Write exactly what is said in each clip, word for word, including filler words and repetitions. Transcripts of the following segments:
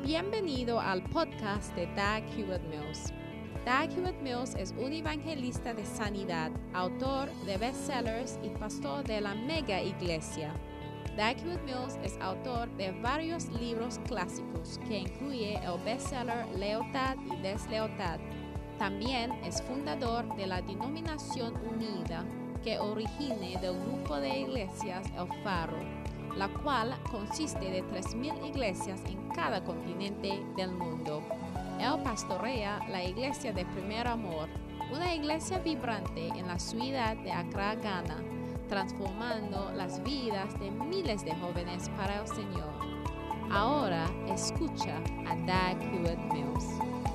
Bienvenido al podcast de Dag Hewlett-Mills. Dag Hewlett-Mills es un evangelista de sanidad, autor de bestsellers y pastor de la mega iglesia. Dag Hewlett-Mills es autor de varios libros clásicos que incluye el bestseller Lealtad y Deslealtad. También es fundador de la Denominación Unida, que origina del grupo de iglesias El Faro, la cual consiste de tres mil iglesias en cada continente del mundo. Él pastorea la iglesia de Primer Amor, una iglesia vibrante en la ciudad de Accra, Ghana, transformando las vidas de miles de jóvenes para el Señor. Ahora escucha a Dag Hewlett-Mills.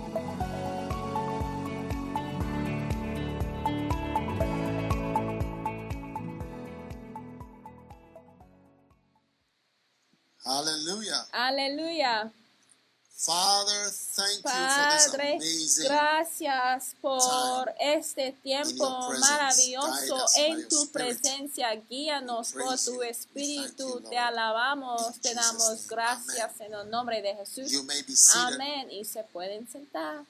Hallelujah. Aleluya. Father, thank Padre, you for this amazing gracias por time este tiempo in your presence. maravilloso Guide us by en your tu spirit. presencia. Guíanos We por praise tu you. We espíritu. thank you, Te Lord. alabamos, In te Jesus' damos name. gracias Amen. en el nombre de Jesús. You may be seated. Amén. Y se pueden sentar.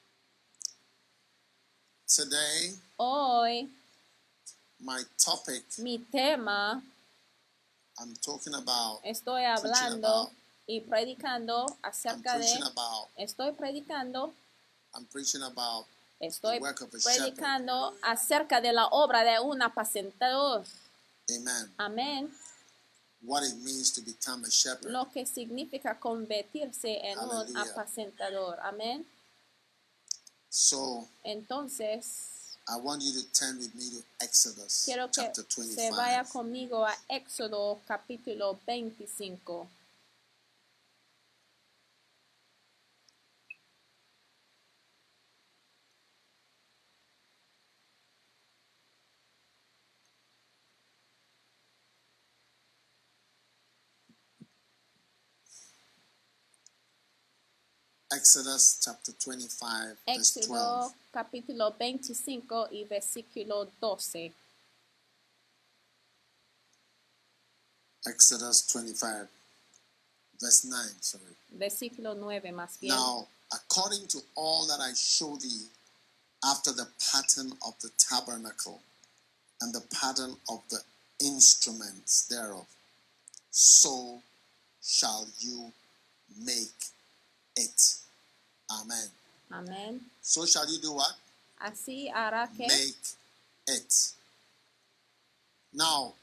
Today, Hoy my topic, mi tema, I'm talking about, estoy preaching hablando about, y predicando I'm acerca de, preaching about, estoy predicando, I'm preaching about estoy the work of a shepherd. predicando acerca de la obra de un apacentador. Amen. Amén. What it means to become a shepherd. Lo que significa convertirse en un Aleluya. apacentador. Amén. So, Entonces, I want you to turn with me to Exodus quiero que chapter se vaya twenty-five. conmigo a Éxodo capítulo veinticinco. Exodus chapter twenty-five, verse Éxodo twelve. capítulo veinticinco y versículo doce. Exodus twenty-five, verse nine, sorry. Versículo nueve más bien. Now, according to all that I show thee, after the pattern of the tabernacle, and the pattern of the instruments thereof, so shall you make it. Amen. Amén. So shall you do what? Así hará que Make it. Now,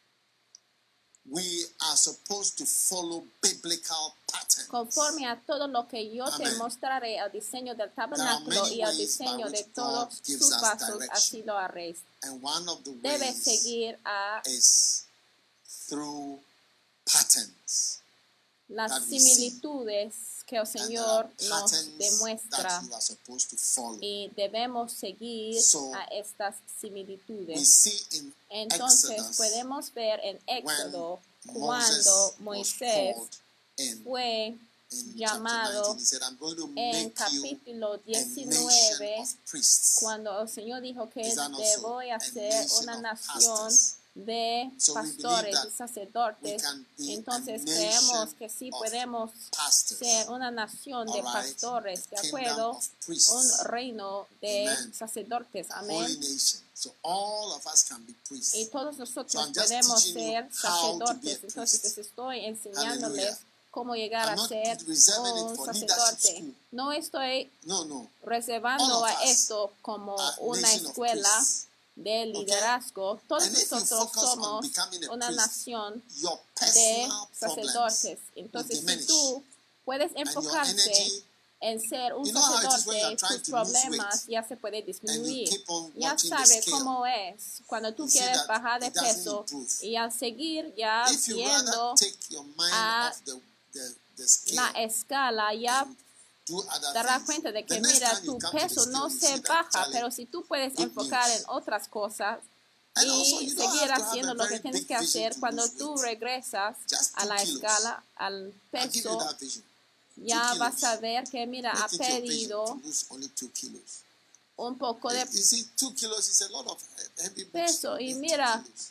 we are supposed to follow biblical patterns. conforme a todo lo que yo te Amén. mostraré, el diseño del There are tabernáculo many y el ways by diseño de which todos God gives sus us pasos, direction. así lo haréis. And one of the Debes ways seguir a is through patterns. las that we similitudes que el And there are Señor nos patterns demuestra that you are supposed to follow. y debemos seguir So, a estas We similitudes. see in Entonces Exodus podemos ver en Éxodo when cuando Moses was Moisés called in, fue in llamado chapter nineteen, he said, I'm going to en make you capítulo a nation diecinueve, of priests. cuando el Señor dijo que Is that te also voy a a hacer nation una of nación pastors? de So we believe pastores that y we sacerdotes. can be Entonces a creemos nation que sí of podemos pastors. ser una nación de All right? pastores, ¿de A kingdom acuerdo? of priests. Un reino de Amen. sacerdotes, A holy amén. nation. So all of us can be priests. Y todos nosotros So I'm just podemos teaching you ser how to be a sacerdotes. priest. Entonces les estoy enseñándoles Hallelujah. cómo llegar I'm a not ser reserving it un for leadership sacerdote. school. No estoy No, no. reservando All of a us esto como are una nation of escuela priests. de liderazgo. Todos And if you nosotros focus on somos becoming a una priest, nación Your de personal sacerdotes. problems will Entonces, si diminish. tú puedes And your enfocarte energy, en ser un you know how it is when you are sacerdote, trying tus to lose problemas weight ya se pueden and you disminuir. keep on Ya watching the sabes scale. cómo es cuando tú You see quieres that bajar de it doesn't peso improve. y al seguir ya If you viendo rather take your mind a off the, the, the la scale escala, ya and do other te darás things, cuenta de the que next mira, time you tu come to the peso scale, no you se see that, baja, Charlie, pero si tú puedes good enfocar news. en otras cosas And also, y you don't seguir have to have haciendo a lo que very tienes big que vision hacer, to cuando lose tú weight. regresas Just a two la kilos. escala, al I'll give you peso, that vision. ya Two vas a kilos. ver que mira, ha Make it your vision perdido to lose only two kilos. un poco de You see, two kilos is a lot of heavy books. peso. to Y lift two mira, kilos.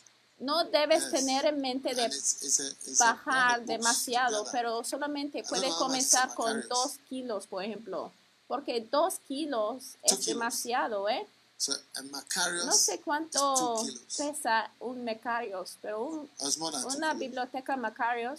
No debes Yes. tener en mente de And it's, it's a, it's a lot bajar of books demasiado, together. pero solamente don't puedes know how much is a comenzar con Macarius. dos kilos, por ejemplo. Porque dos kilos Two es kilos. demasiado, ¿eh? So a Macarius No sé is cuánto two kilos. pesa un Macarius, pero un- Or it's more than two una kilos. biblioteca Macarius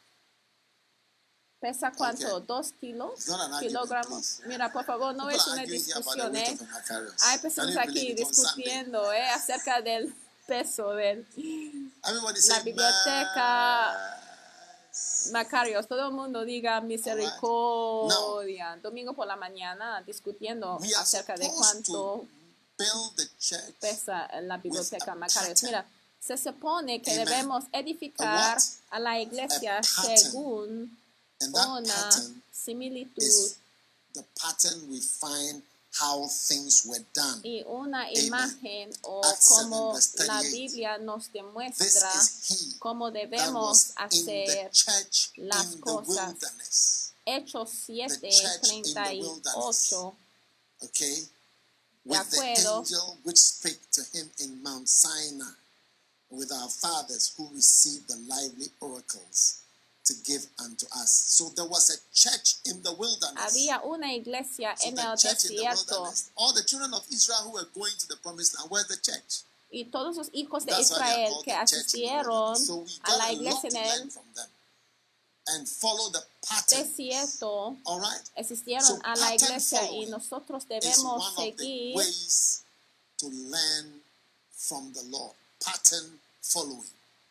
pesa cuánto, Okay. dos kilos, It's not an argument, kilogramos. please. Mira, por favor, no People es are una arguing here about the discusión, weight ¿eh? of a Macarius. Hay Can personas you aquí believe it on Sunday? discutiendo, ¿eh? Acerca del peso del Everybody la say, biblioteca "Mass." Macarius. Todo el mundo diga misericordia. Domingo por la mañana discutiendo We are acerca de supposed to cuánto build the church pesa la biblioteca a Macarius. pattern. Mira, se supone que Amen. debemos A edificar what? a la iglesia A pattern. según And that una pattern similitud is the pattern we find how things were done. y una imagen o Acts seven, como verse la thirty-eight. Biblia nos This demuestra is he cómo that debemos was in the hacer church las in the cosas. wilderness. Hechos siete The church in the treinta y ocho. Okay? De With the acuerdo. angel which spake to him in Mount Sinai, with our fathers who received the lively oracles to give unto us. So there was a church in the wilderness. Había una iglesia So en the el church in the desierto wilderness. All the children of Israel who were going to the promised land, where's the church? y todos los hijos de That's why they are Israel called que the church in the asistieron wilderness. So we a got la a lot iglesia to en learn el from them and follow the pattern. desierto, All right? asistieron So a la pattern iglesia y following nosotros is debemos one of the seguir ways to learn from the Lord. Pattern following.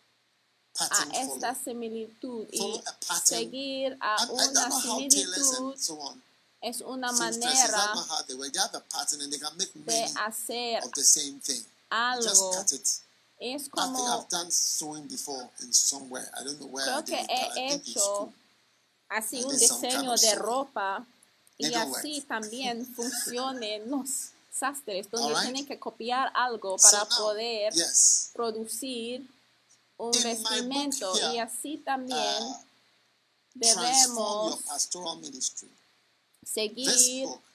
a Pattern esta following. similitud y Follow a pattern. seguir a And I don't una know how tailors similitud and so on. es una seamstresses, I don't manera know how they work. They have a pattern and they can make de many hacer of the same thing. You just algo. cut it. Es I think como I've done sewing before in somewhere. I don't know where I creo did que it, but I he think in hecho school. así I un did some kind diseño of de sewing. ropa y Needlework. así también funcionen los sastres donde Alright. tienen que copiar algo So para now, poder yes, producir un In my vestimento book here, y así también uh, transform debemos your pastoral ministry. This seguir book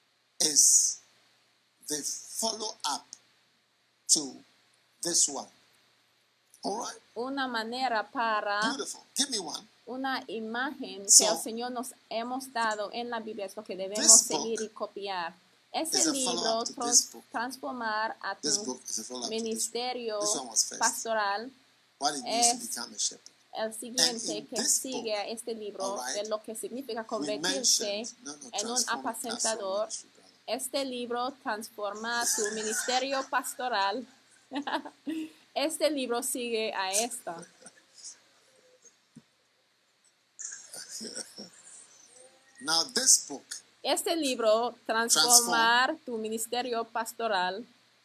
is the follow-up to this one. All right? una manera para Beautiful. Give me one. una imagen que So, el Señor nos hemos dado en la Biblia es lo que debemos this book seguir y copiar. is Ese a libro, follow-up to trans- this book. transformar a This tu book is a follow-up to this one. ministerio This one was first. pastoral, What it means to es become a shepherd. el siguiente in que this sigue a este libro alright, de lo que significa We convertirse mentioned, no, no, en un transform your pastoral apacentador. ministry, brother. Este libro transforma tu ministerio pastoral. Este libro sigue a esta. Now, this book Este libro, transformar tu ministerio pastoral,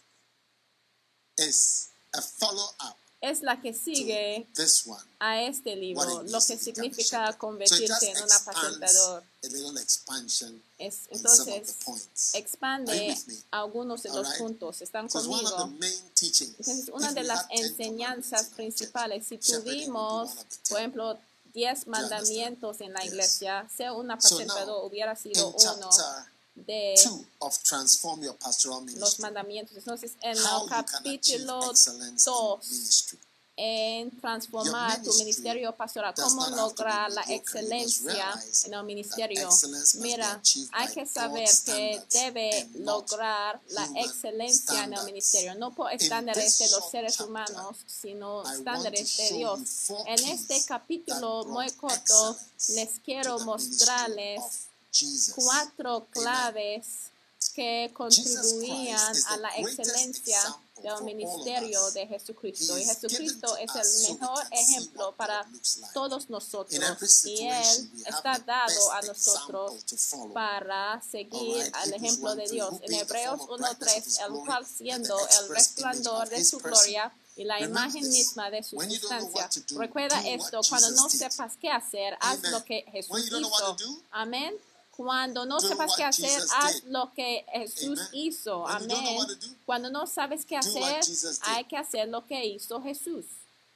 is a follow-up es la que to sigue this one. a este What libro, it lo means que to become a significa shepherd. So it convertirse just en un expands apacentador. a little expansion Es, on some of the entonces, points. Are you expande with me? algunos de los Alright? puntos. ¿Están So it's one of the conmigo? main teachings. Entonces, una If de we las had ten enseñanzas commandments in our principales, si church, shepherding would be tuvimos, one of the por ten. ejemplo, diez mandamientos en la Yes. iglesia, ser un So apacentador now, hubiera sido in uno chapter de two of Transform Your Pastoral los Ministry, mandamientos. Entonces, en how el you can achieve capítulo excellence in dos, ministry. en transformar Your tu ministry ministerio pastoral, does cómo not have to be lograr la mediocre. You must excelencia realize en el that ministerio. excellence must be Mira, achieved hay by que God's saber que standards debe and not lograr la human excelencia en el standards. ministerio, no por In estándares this de los short seres chapter, humanos, sino I want to estándares de show Dios. you four En keys este capítulo that muy brought corto, excellence les quiero to the ministry mostrarles of Jesus. cuatro claves que contribuían Christ is a the la greatest excelencia example for del all of ministerio us. de Jesucristo. He Y is given Jesucristo to es us el so we mejor can see ejemplo what para God looks like. todos nosotros. In every Y situation, Él we have está the dado a best nosotros example to follow. para seguir Alright, al Hebrews ejemplo one de three, Dios. who En being the Hebreos form of uno brightness of tres, his el glory cual and the siendo el express image resplandor of de his su person. gloria y la Remember imagen this. misma de su When you don't know sustancia. what to do, Recuerda do esto, what cuando Jesus no did. sepas qué hacer, haz Amen. lo que Jesús When you don't know hizo. what to do, Amén. Cuando no do sepas what qué hacer, Jesus haz did. lo que Jesús Amen. hizo. When you don't know Amén. what to do, Cuando no sabes qué do what hacer, Jesus did. hay que hacer lo que hizo Jesús.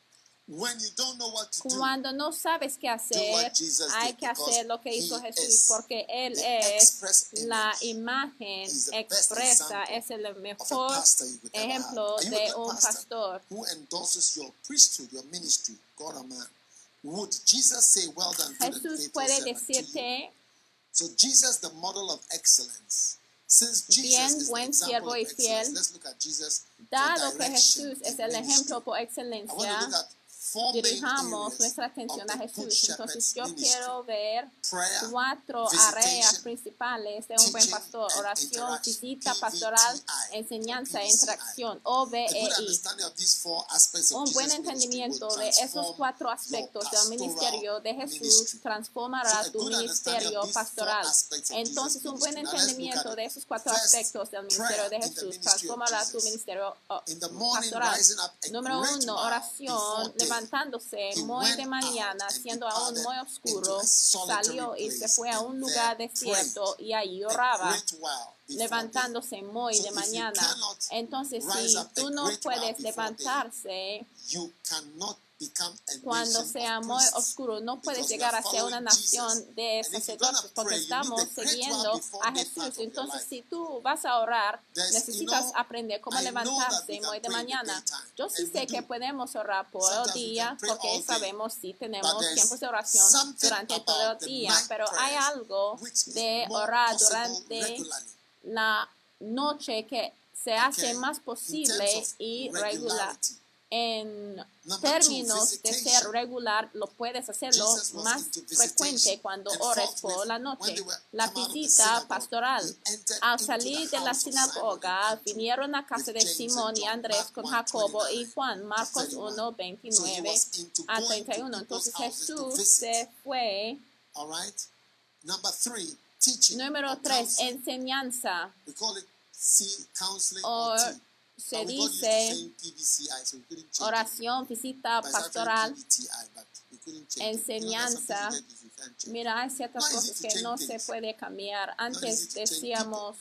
when you don't know what to do, Cuando no sabes qué hacer, Jesus hay did, que because hacer lo que hizo he Jesús, is porque Él the es express la image. imagen He's the best expresa, example es el of a mejor pastor you could ever have. ejemplo Are you a de good un pastor pastor. who endorses your priesthood, your ministry, God or man? Would Jesus say, well done, good and Jesús faithful puede servant to you? decirte, So Jesus, the model of excellence. Since Jesus bien, is the buen example siervo of y excellence, fiel, let's look at Jesus for dado que direction Jesús es in el ministry. ejemplo por I want to excelencia, look at four main dirijamos areas nuestra of atención a the Good Jesús. Entonces Shepherd's yo ministry: quiero ver prayer, cuatro visitation, áreas principales de un buen teaching, pastor: and oración, interaction. visita P V pastoral, T I, enseñanza or e P V C I. interacción, O B A good E I. understanding of these four aspects of Un buen Jesus' ministry will entendimiento de esos transform cuatro your aspectos del pastoral ministerio de Jesús ministry. So transformará a tu good understanding ministerio of these four pastoral. aspects of Entonces, Jesus' un buen ministry. Now let's look at entendimiento it. de esos cuatro First, aspectos del prayer ministerio de in the Jesús ministry of transformará tu Jesus. ministerio oh, In the morning, pastoral. rising up a Número great uno, while oración, before day, levantándose he muy went de out mañana, and siendo aún departed muy into oscuro, a solitary salió y se place, fue a and un there lugar prayed desierto y allí a oraba, great while before day. levantándose muy So de if you mañana. cannot Entonces, rise si up a tú no great while puedes before day, levantarse you cannot become a cuando nation sea of muy priests, oscuro, no puedes because we llegar are a ser una following nación Jesus. de And if you're gonna sacerdotes, porque pray, you need estamos the great while siguiendo before a day part Jesús. of your Entonces, life. si tú vas a orar, There's, necesitas you know, aprender cómo I know that we levantarse can muy de pray in the mañana. daytime, Yo sí and we sé que do. podemos orar por el Sometimes we día, can pray porque all day, sabemos si but tenemos there's tiempos de oración something durante todo about el the día, night pero hay prayers algo which is de more orar possible durante regularly. la noche que se hace Okay? más In posible terms of y regular. regularity. En Number términos two, de ser visitation. regular, lo puedes hacerlo Jesus was más into frecuente visitation. cuando And ores forthwith, por la when noche. they were La come out of the visita synagogue, pastoral. he entered Al into salir the de la house of Simon sinagoga, and vinieron a Andrew casa with de James Simón and y John. Andrés Mark con one, Jacobo y twenty-nine Juan, to Marcos thirty-one. uno, So he veintinueve was into a going treinta y to uno. people's Entonces houses to Jesús visit. se fue. All right. Number three, teaching Número or tres, counseling. enseñanza. We call it C, counseling O or T. se But we got used to dice saying P V C I, so we couldn't change it. oración, visita But it's actually pastoral, P V T I, but we couldn't change it. You know, there's some enseñanza. things that you can't change. Mira, hay ciertas Not easy cosas to que change no se things. puede cambiar. Not easy Antes to change decíamos,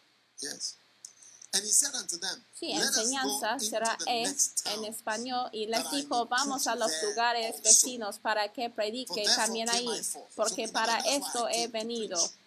Yes. And he said unto them, sí, let us go enseñanza into será the es next en town, español, y les that I dijo, may vamos preach a los there lugares also. vecinos para que For predique therefore también came ahí, I forth. So porque remember, para that's why esto I he came to venido. preach.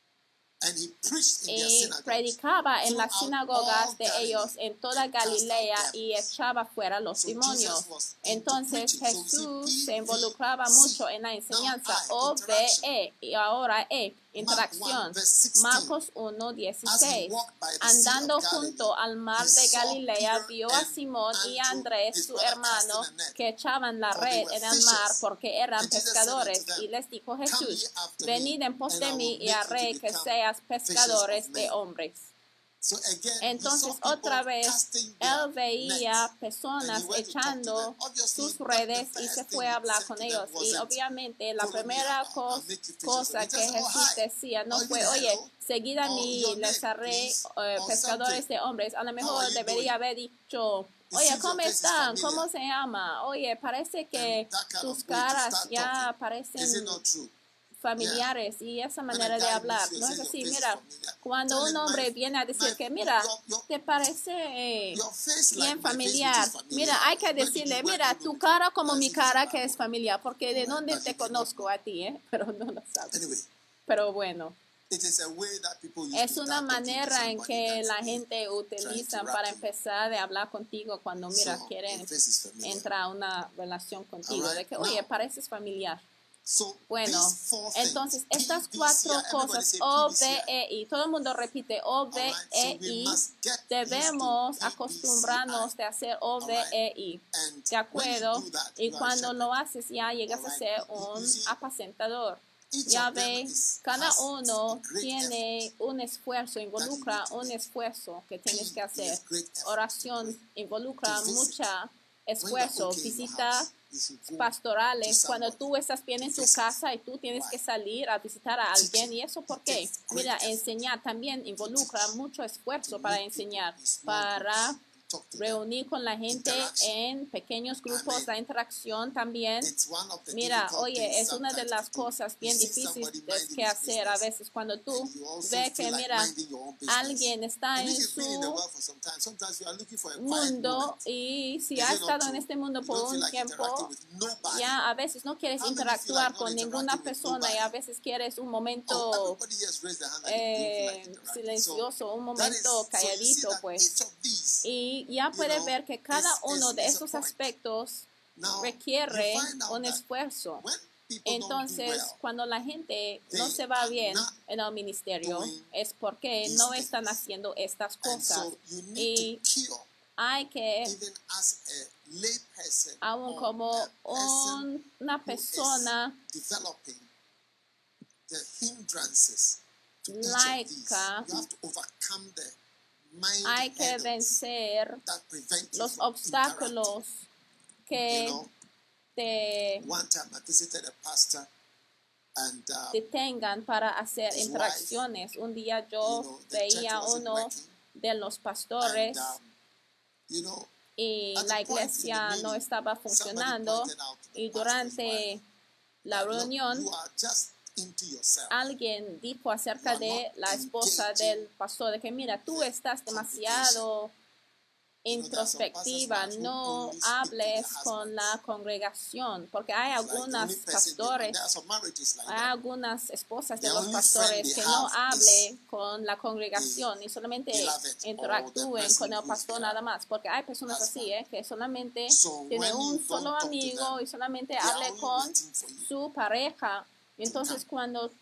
And he preached in their Y synagogues predicaba en las throughout sinagogas all de Galilee, ellos en toda and cast out Galilea y devils. echaba fuera los So demonios. Jesus was into Entonces preaching. So we see Jesús se P V involucraba C. mucho en la Now enseñanza. I, O B interaction. E y ahora E, Mark interacción. one, verse sixteen. Marcos uno, As he dieciséis. walked by the sea Andando of Galilee, junto al mar he de saw Galilea, Peter vio a and Simón y a Andrew, Andrés, his su brother, hermano, casting a net, que echaban la for they red were en el mar fishers. porque eran And Jesus said unto pescadores. them, Y les dijo come ye Jesús, after venid me, en pos and de I mí will y make you haré to que become seas fishers of pescadores de men. hombres. So again, Entonces he saw otra people vez casting their él veía nets, and personas he went to talk to them. echando Obviously, sus the, the redes y first se thing fue a he hablar said con to them ellos. Y wasn't, obviamente la follow me, primera I'll, I'll cos- make you fishers of cosa men. que Just, oh, Jesús hi, decía no or fue, even oye, hello, seguid a or mí your y les name, haré please, eh, or pescadores something. de hombres. A lo How are mejor you debería doing? haber dicho, It oye, seems your ¿cómo face is están? familiar. ¿Cómo se llama? Oye, parece que And that kind tus of way to caras start ya talking. Is it parecen not true? familiares y esa When a manera de guy hablar. meets you and No es says your así, face is mira, familiar, cuando tell un him my, hombre viene a decir my, que, mira, your, your, te parece eh, your face like bien my face, which familiar, is familiar. mira, hay que Where did decirle, you, where do mira, you know tu me from? cara como As mi if he's a cara bad que boy. es familiar, porque de Right? dónde But te you do not conozco know. a ti, ¿eh? Pero no lo sabes. Anyway, Pero bueno, it is a way that people use es to una start talking to manera en somebody que that la they gente trying utiliza to para rap you. empezar de hablar contigo cuando, mira, So quieren your face is familiar. entrar a una relación All contigo, de right. que, oye, Now, pareces familiar. so Bueno, these four things, entonces P estas V C I, cuatro everybody cosas, say O P V C I. B E I, todo el mundo repite O All B right. So E we I, must get used to debemos P V C I. acostumbrarnos de hacer O B E I, And ¿de when you acuerdo? do that, Y you are a cuando shepherd. lo haces ya llegas All a right. ser You, you un see, apacentador. each Ya of them ve, is, cada has a uno great tiene effort un esfuerzo, that you need involucra to un make. esfuerzo que P tienes que hacer. is great effort to Oración pray, involucra to visit. mucha When you are esfuerzo. okay in your Visita house, you should go to pastorales, cuando somebody tú estás bien to en tu visit. casa y tú tienes que Why? salir a visitar a alguien. Teaching, ¿Y eso por it qué? takes great Mira, effort enseñar también to involucra teach, mucho to esfuerzo para meet people enseñar, in small para groups, talk to them. reunir con la gente Interaction. en pequeños grupos, Amen. la interacción también. It's one of the Mira, difficult oye, things es una de sometimes las to do. cosas You bien see somebody difíciles minding que his hacer a business, veces cuando tú and you also ves que, feel like mira, minding your own business. alguien está And en if you've been in the su world for some time, sometimes you are looking for a quiet mundo moment. y si Is ha it not estado en true? este mundo You por don't feel un like interacting tiempo, with nobody. ya a veces no quieres How many feel interactuar like not con ninguna interacting with persona y a veces quieres un Oh, momento everybody here has raised their hand that they don't feel like eh, interacting. So silencioso, un that is, momento so you see calladito, that pues. each of these, Y ya you puedes know, ver que cada is- uno is- de is a esos point. aspectos Now, requiere you find out un that esfuerzo. when people don't do Entonces, well, cuando la gente no they se va are bien not en el ministerio, doing es porque these no están things. haciendo estas and cosas. so you need Y to cure, hay que, even as a lay person aún or como a person un- una who is persona developing the hindrances to each of these, laica, you have to overcome the mind hay que hurdles vencer that prevent you los from obstáculos interacting. que You know, te one time I visited a pastor and uh, detengan para hacer his interacciones. Un día yo you know, the church veía wasn't uno working, de los pastores and um, you know, y at la the point in the iglesia no meeting, estaba somebody funcionando pointed out to the y pastor's durante wife la that, "Look, reunión you are just into yourself. alguien dijo acerca You are de not la esposa engaging del pastor de que mira, tú the estás congregation. demasiado You know, there are some introspectiva, pastors' wives who no only speak to their hables husbands. con la congregación, porque hay It's like the algunas only person they- and pastores, there are some marriages like hay that. algunas esposas de The los only pastores friend que they no have hable con la congregación y solamente beloved or the interactúen person con el who's pastor their nada más, porque hay personas así, husband. ¿eh? Que solamente So tiene when un you solo don't talk to amigo them, y solamente they are hable only con waiting for you. su pareja. Entonces cuando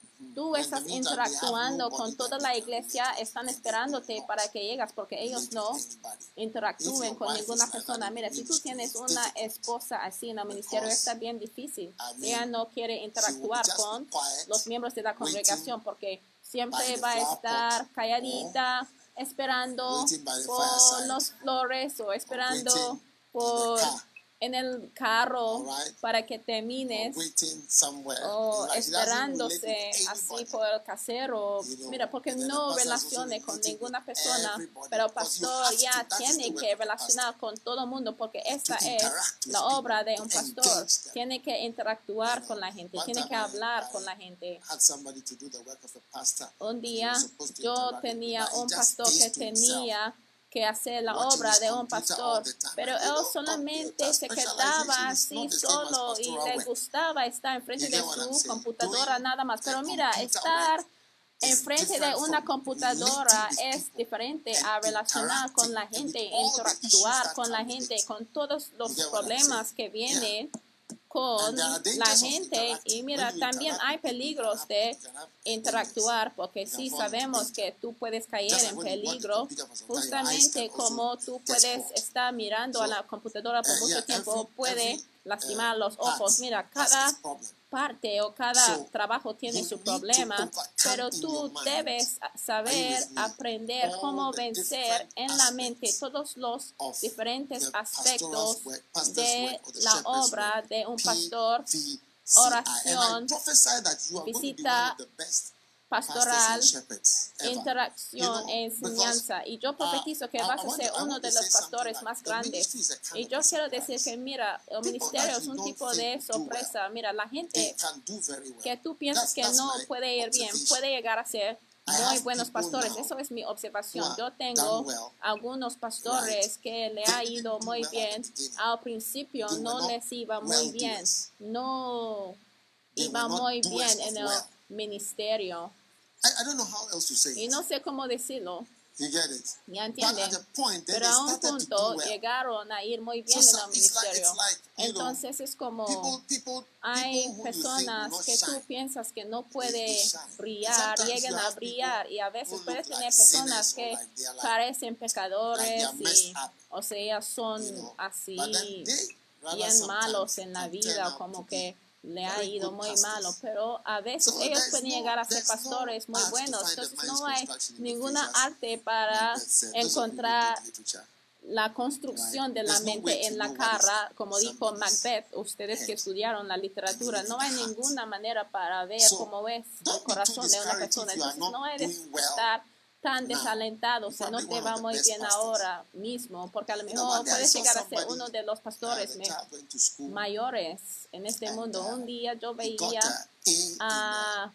tú When estás the meantime, they have interactuando nobody con that toda they la can iglesia, relate with. están They esperándote will not para que llegas, porque relate ellos with no anybody. interactúen If your con wife ninguna is like that persona. in Mira, the si tú ministry, tienes it's una difficult. esposa así en el ministerio, Because, está bien difícil. I mean, Ella no quiere she will interactuar just con be quiet, los miembros de la congregación, porque siempre by the va a flower estar pot, calladita, esperando waiting by the por fireside, los flores o esperando waiting por in the car, en el carro all right? para que or termines waiting somewhere. o Like, he doesn't relate esperándose with así anybody. por el casero. You know, Mira, porque and then the no pastor is also relacione con relating ninguna with persona, everybody, pero el because you pastor have ya to. That is the tiene work que of the relacionar pastor. con todo el mundo, porque To esta es interact with la obra people, de to un pastor. engage them. Tiene que interactuar You know, con la gente, one tiene time que I- hablar I con la gente. had somebody to do the work of the pastor. Un and he día was supposed to yo interact with tenía people, but he un just pastor que stays to himself, tenía que hacer la watching obra his de un computer all pastor, the time. pero And you él know, solamente computer se quedaba specialization is así not the same as solo y pastoral le work. gustaba estar enfrente You de get what I'm su saying? computadora Doing nada más. the Pero mira, computer estar work is enfrente de different una from computadora relating with es people diferente and a relacionar con la interacting gente, with all the issues interactuar that con la come with gente, it. con todos los You get what I'm problemas saying? que Yeah. vienen con And there are la dangers of gente. interacting. Y mira, When you también interact hay with people, you can peligros have- de you can have interactuar, porque You can sí fall into sabemos danger. que tú puedes caer Just like en when you watch the peligro, computer for some time, your eyes justamente can also como tú get puedes spoiled. estar mirando a So, la computadora por uh, mucho yeah, tiempo, every- puede every, lastimar uh, los part ojos. Mira, has cada its problem. parte o cada So, trabajo tiene you su need problema, to overcome pero in tú your mind. debes Are you saber with me? aprender All cómo the vencer different en la mente aspects todos los of diferentes the aspectos pastoral's work, pastor's de work, or the la shepherd's obra work. de un P pastor, V C I. oración, And I prophesy that you are going to be visita one of the best pastors pastoral, and shepherds ever. interacción You know, e enseñanza. Y yo because, profetizo uh, que I- vas I a want ser to- I uno want de to los say something pastores like más the grandes. ministry is a kind Y of yo a quiero surprise. decir que, mira, el People ministerio that es you un don't tipo think de do sorpresa. Mira, la They gente can do very well. que tú piensas That's- que that's no my puede ir bien, observation. puede llegar a ser I muy have buenos people pastores. now Eso es mi who observación. are Yo tengo done well, algunos pastores right? que le They ha didn't ido do muy well at the bien. beginning. Al principio They were no not les iba muy well bien. doers. No They iba were not muy doers bien of en el well. ministerio. I, I don't know how else to say Y it. no sé cómo decirlo. You get it? ¿Ya But entienden? at a point, then Pero they a un started to punto do well. llegaron a ir muy bien So, en so el it's like, ministerio. it's like, you know, Entonces es como people, people, hay people who you think will personas not que tú shine. piensas que no They puede shine. brillar, And sometimes llegan you a have brillar people y a veces who puedes look tener like personas sinners or que like they are like- parecen like pecadores they are messed y up, o sea son you know. así But then they, rather bien malos sometimes en la can turn vida, out como to que be le ha very ido good muy pastors. malo, pero a veces So ellos there's pueden no- llegar a ser there's no pastores muy art to buenos. find the Entonces mind's no hay construction in the ninguna face, as arte para Macbeth said. Those of you who encontrar did literature. la construcción de la There's no way mente to en la know what is cara, como dijo somebody's Macbeth, ustedes que head. estudiaron la literatura, no hay ninguna manera para ver So, cómo es don't el be too corazón de una discouraged persona. if you are Entonces not no eres doing well estar tan now. desalentado You si no probably te one va of the muy best bien pastors. ahora mismo, porque a lo You know, mejor one day I puedes saw llegar a ser somebody, uno de los uh, pastores the me- child went to school, mayores en este and mundo. uh, Un día yo he got veía a A in uh, a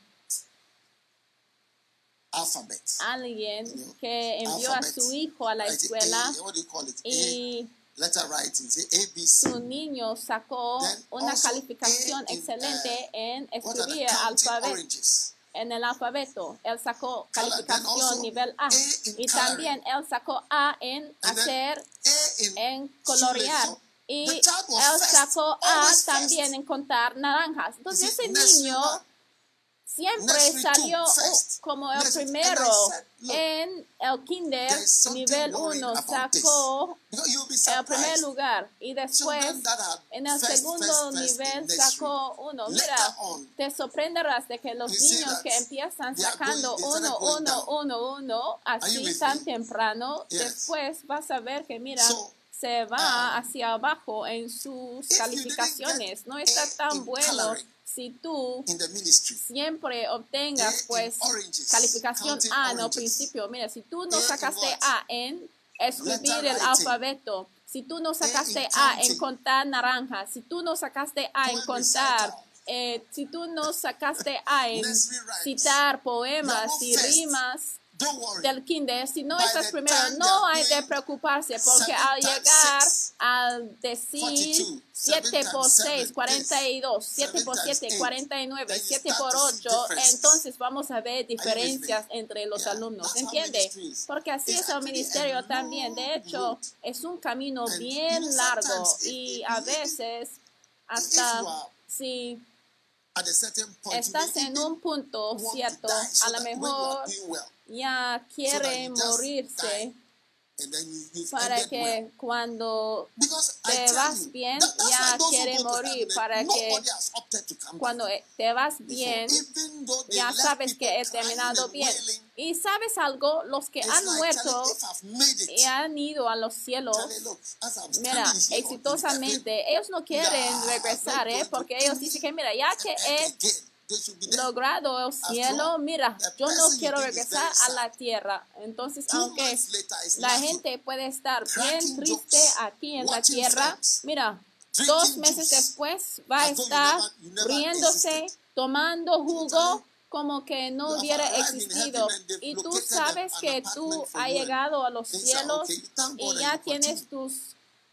alphabet. alguien You know, que envió a alphabet. su hijo a la Write escuela A, what do you call it? A, y letter writing, say A, B, C. su niño sacó Then una also calificación A in, excelente uh, en What are the escribir counting alfabeto. oranges? En el alfabeto, él sacó Color. Then calificación also nivel A. A in Y coloring. también él sacó A en And then hacer, A in en shoelace. colorear. So Y the child was él first, sacó A always también first. en contar naranjas. You Entonces see, ese nursery niño one, siempre nursery salió two, uh, first. como el Nursery- and I primero. said, look, En el kinder, there is something nivel worrying uno, about this. sacó Because you'll be el primer surprised. lugar. Y después, Children that are en el first, segundo first, first nivel, in nursery, sacó uno. later Mira, on, te sorprenderás de que los you see niños that que empiezan they are sacando going- they started uno, going uno, down. uno, uno, Are you así with tan me? temprano, Yes. después vas a ver que, mira, So, se va um, hacia abajo en sus if you calificaciones. didn't No get está A tan in bueno coloring si tú in the ministry, siempre A obtengas in pues oranges, calificación counting A en el oranges. principio. Mira, si tú no A in sacaste what? A en escribir Letter el writing. alfabeto, si tú no sacaste in A en counting. contar naranjas, si tú no sacaste A en Poem contar, recital. eh, si tú no sacaste A en Nursery rhymes. citar You are poemas not y first. rimas Don't worry. del kinder, si no By estás the primero, time no they are hay de doing preocuparse, porque seven al times llegar six, al decir forty-two, siete seven por times seis, seven, cuarenta y dos, this, siete seven por times siete, eight, cuarenta y nueve, then you siete start por to see ocho, differences. entonces vamos a ver diferencias with me? entre los Yeah, alumnos, that's how ¿entiende? ministry is. Porque así It's es el actually a ministerio long también, de hecho, road. es un camino And, bien you know, largo sometimes if- y if- a if- veces If hasta you are si at a certain point, you estás may en even un punto want to cierto, die so a lo that when you mejor are doing well, ya quiere you just morirse die. And then you, you've para ended que well. cuando Because I te tell vas you, bien, that- that's ya why those who quiere go to morir, heaven, para que nobody has opted to come cuando back te vas before. bien, Even though they ya left sabes people que he crying terminado and bien. wailing, Y sabes algo, los que it's han like, muerto Charlie, if I've made it, y han ido a los cielos, Charlie, look, as I'm standing mira, here in heaven, exitosamente, ellos no quieren nah, regresar, I'm ¿eh? not Porque going to ellos dicen que, mira, ya que earth he again. They should be there. logrado el cielo, mira, the yo no person you quiero think is regresar very a sad. la tierra. Entonces, Two aunque months later is la laughing, gente puede estar bien cracking triste jokes, aquí en la watching tierra, films, mira, drinking dos meses juice, después va a as though you estar never- you never riéndose, existed. tomando jugo como que You no have hubiera arrived in existido. heaven and they've Y tú located sabes an que apartment tú for has you, llegado a los things are cielos okay. You thank y God ya and you tienes continue. tus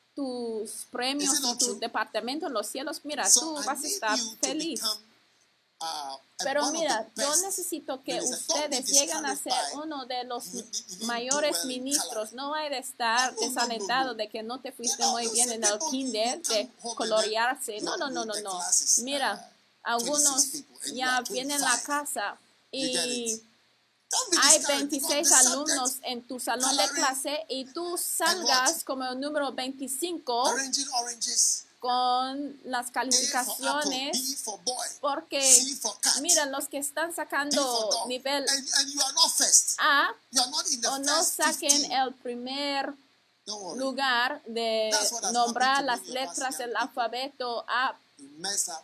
tus premios Is it y not tu true? departamento en los cielos. Mira, So tú I vas a need estar you to feliz. become, uh, a- Pero one of mira, the yo best necesito que ministers. Don't be ustedes lleguen a ser discouraged by uno de los you didn't do mayores well in ministros. coloring. No hay de estar No, no, no, desalentado no. de que no te fuiste You know, muy you bien see en el people, you- kinder you de come home and colorearse. then No, no, no, you- no, the no. class is, Mira, uh, algunos twenty-six people and you ya are vienen a la twenty-five. casa You get y it? Don't be hay discouraged because veintiséis the subject, alumnos en tu salón de coloring, clase y tú salgas como el número veinticinco arranging oranges, con las A for apple, B calificaciones. for boy, Porque, C for cat, mira, los que están D for sacando dog, nivel and, and you are not first. A You are not in the o no first saquen fifteen. el primer Don't worry. lugar de That's what has nombrar happened to las many of us letras young del people. alfabeto A, You mess up.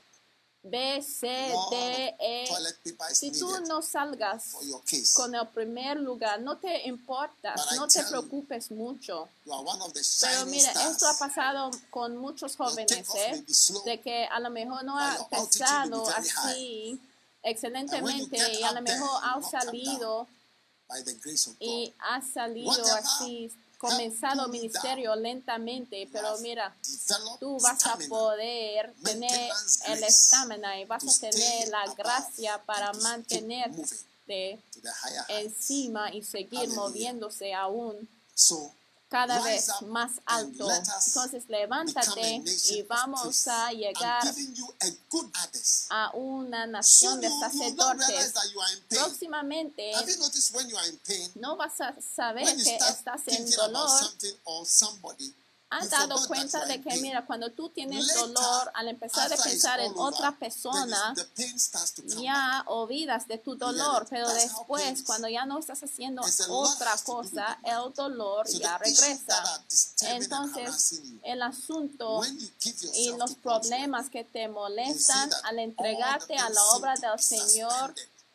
B, C, A lot D, of E. toilet paper is Si tú needed no salgas for your case. con el primer lugar, no te importas, But I no te tell you, preocupes mucho. You are one of the Pero shining mira, stars. esto ha pasado con muchos Your jóvenes, takeoff may ¿eh? be slow, De que a lo mejor no but ha your altitude will empezado be very high. así And when you excelentemente get y a lo up there, mejor you ha will not come down salido by the grace of God. y ha salido Whatever así, comenzado have pulled you ministerio down, lentamente, you pero have mira, developed tú vas a stamina, poder tener maintenance el grace estamina y vas to a stay tener la above gracia para and to keep mantenerte moving to the higher heights. encima y seguir Hallelujah. moviéndose aún So cada rise vez up más and alto. let us Entonces become a levántate nation y of vamos priests. a I'm llegar giving you a good others. a una nación Soon de you, you will not sacerdotes. realize that you are in pain. Próximamente Have you noticed when you are in pain, no vas a saber when you que start estás en thinking about dolor. something or somebody, ¿Has you dado forgot cuenta that you are de in que, pain. mira, cuando tú tienes Later, dolor, al empezar a after it's pensar all en over, otra then persona, it's- the pain starts to come back. ya olvidas de tu get dolor, it? pero That's how pain después, is. cuando ya no estás haciendo It's a lot otra has to do with cosa, the mind. el dolor So ya the issues that regresa. are disturbing and Entonces, harassing you, el asunto when you give y yourself los to God's work, problemas que te molestan that al all entregarte the a things la seem obra to del be Señor, suspended.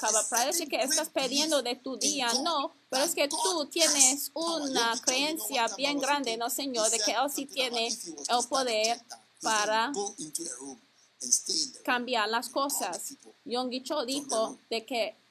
acaba. Parece que estás perdiendo de tu día. No, pero es que tú tienes una creencia bien grande, ¿no, Señor? De que Él sí tiene el poder para cambiar las cosas. Yonggi Cho dijo de que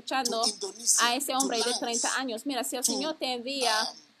escuchando to Indonesia, a ese hombre to de Laos, treinta años, mira, si el to, Señor te envía um,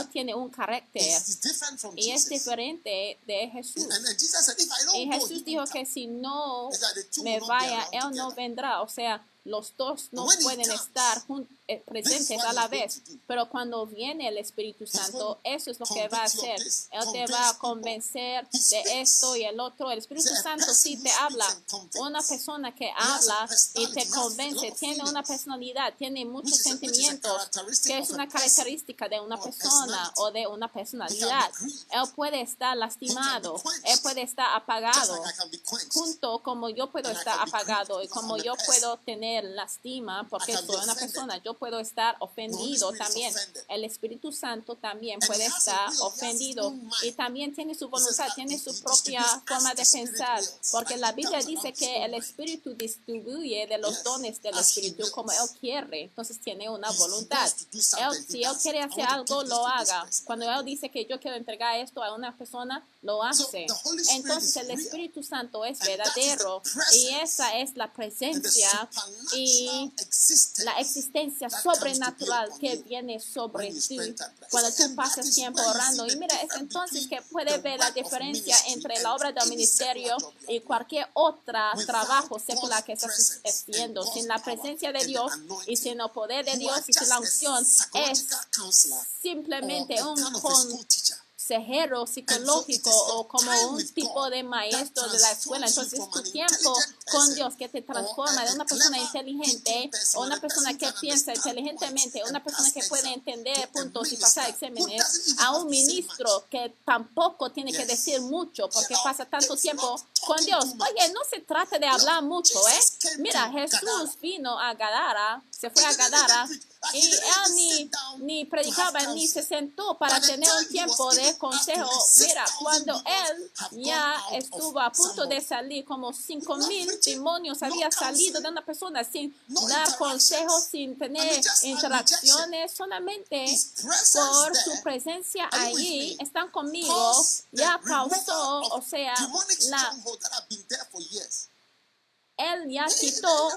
cual tiene un carácter It's different from y es Jesus. diferente de Jesús. And then Jesus said, if I Y don't go, Jesús he dijo won't que come. si no It's like the two me will not be vaya, around Él no together. vendrá. O sea, los dos no When he pueden comes, estar jun- eh, presentes what a la he's going vez. to do. Pero cuando viene el Espíritu Santo, eso es lo que va a Convince you of hacer. this, Él te convince va a people. convencer He de speaks. esto y el otro. El Espíritu He's a Santo person sí who te speaks habla. and convince. Una persona que has a habla y personality, te he has a lot convence, of tiene una feelings, personalidad, tiene muchos which is a- which is a sentimientos, characteristic que of es a una person característica de una or a persona personality. o de una personalidad. grieved. Él puede estar lastimado, quenched. él puede estar Just apagado, like I can be quenched. junto como yo puedo And I estar can be apagado grieved y because como I'm a yo person. puedo tener lastima porque I can be soy una offended. persona, yo puedo estar ofendido Spirit is también. offended. El Espíritu Santo también And puede he has a estar will, he has his ofendido own mind. y también tiene su He voluntad, says, tiene he- su he propia distributes forma as de the Spirit pensar, wills. porque Like la he Biblia comes dice along his que own el mind. Espíritu distribuye de los Yes, dones del as he Espíritu wills. como Él quiere, entonces tiene una He- he voluntad. wants to do Él, something, si he Él does quiere it. I hacer want to algo, give this lo to this haga. person. Cuando Él dice que yo quiero entregar esto a una persona, lo So, hace. the Holy Spirit Entonces is el real. Espíritu Santo es And that is the verdadero presence y esa es la And the presencia y supernatural existence la existencia that comes to be sobrenatural upon que you viene sobre when you ti spend time. cuando And tú that pasas is tiempo where you orando. see Y the mira, es difference entonces que between puedes the ver la work of diferencia ministry entre and la obra de any secular ministerio job you are y doing. cualquier otro Without trabajo secular God's que estás presence haciendo. and Sin God's la power presencia de and the Dios y anointing, sin el poder de you Dios are y sin la just a unción, es psychological counselor or simplemente a un kind of a con school teacher. consejero And so it psicológico is your o como time un with tipo God de that maestro de la escuela. transforms you Entonces from tu an tiempo intelligent con person Dios que te or transforma a, de a una persona clever inteligente thinking person o or una a persona person who que can piensa understand inteligentemente, points una and persona pass que puede exam entender to a puntos y pasar minister who exámenes, doesn't even a have un to say much. ministro que tampoco tiene que Yes. decir mucho porque You know, pasa tanto it's tiempo not con talking Dios. too much. Oye, no se trata de hablar mucho, ¿eh? Jesus came Mira, to Jesús Gadara. vino a Gadara, se fue a Gadara y él ni, ni predicaba ni se sentó para tener un tiempo de consejo. Mira, cuando él ya estuvo a punto de salir, como cinco mil demonios había salido de una persona sin dar consejos, sin tener interacciones, solamente por su presencia allí, están conmigo, ya causó, o sea, la, él ya quitó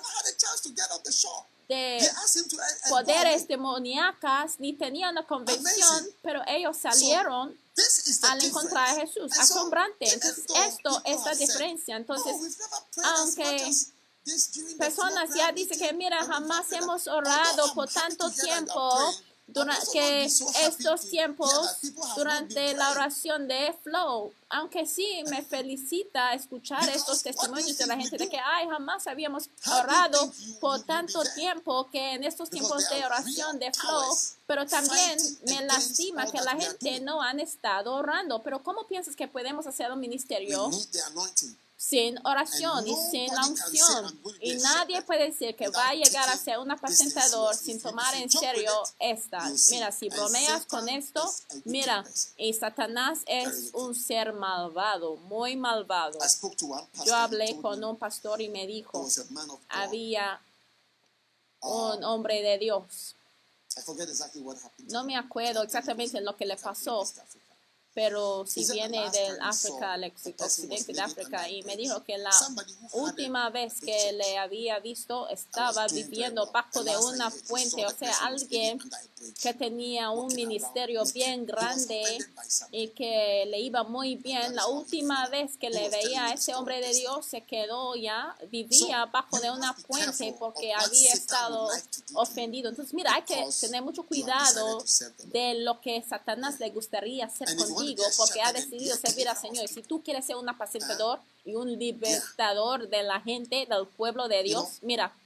de poderes demoníacas, ni tenían una convención, pero ellos salieron al encontrar a Jesús. Asombrante. Entonces, esto es la diferencia. Entonces, aunque personas ya dicen que, mira, jamás hemos orado por tanto tiempo, durante que estos tiempos, durante la oración de Flow, aunque sí me felicita escuchar estos testimonios de la gente de que, ay, jamás habíamos orado por tanto tiempo que en estos tiempos de oración de Flow, pero también me lastima que la gente no han estado orando. Pero ¿cómo piensas que podemos hacer un ministerio sin oración y sin la unción? Y nadie puede decir que va a llegar a ser un apacentador sin tomar en serio esta. Mira, si bromeas con esto, mira, y Satanás es un ser malvado, muy malvado. Yo hablé con un pastor y me dijo, había un hombre de Dios. No me acuerdo exactamente lo que le pasó, pero si viene del África, el occidente de África, y me dijo que la última vez que le había visto estaba viviendo bajo de una fuente, o sea, alguien que tenía un ministerio bien grande y que le iba muy bien. La última vez que le veía a ese hombre de Dios se quedó ya, vivía bajo de una fuente porque había estado ofendido. Entonces, mira, hay que tener mucho cuidado de lo que Satanás le gustaría hacer contigo, porque ha decidido servir al Señor. Y si tú quieres ser un apacentador y un libertador de la gente, del pueblo de Dios, mira.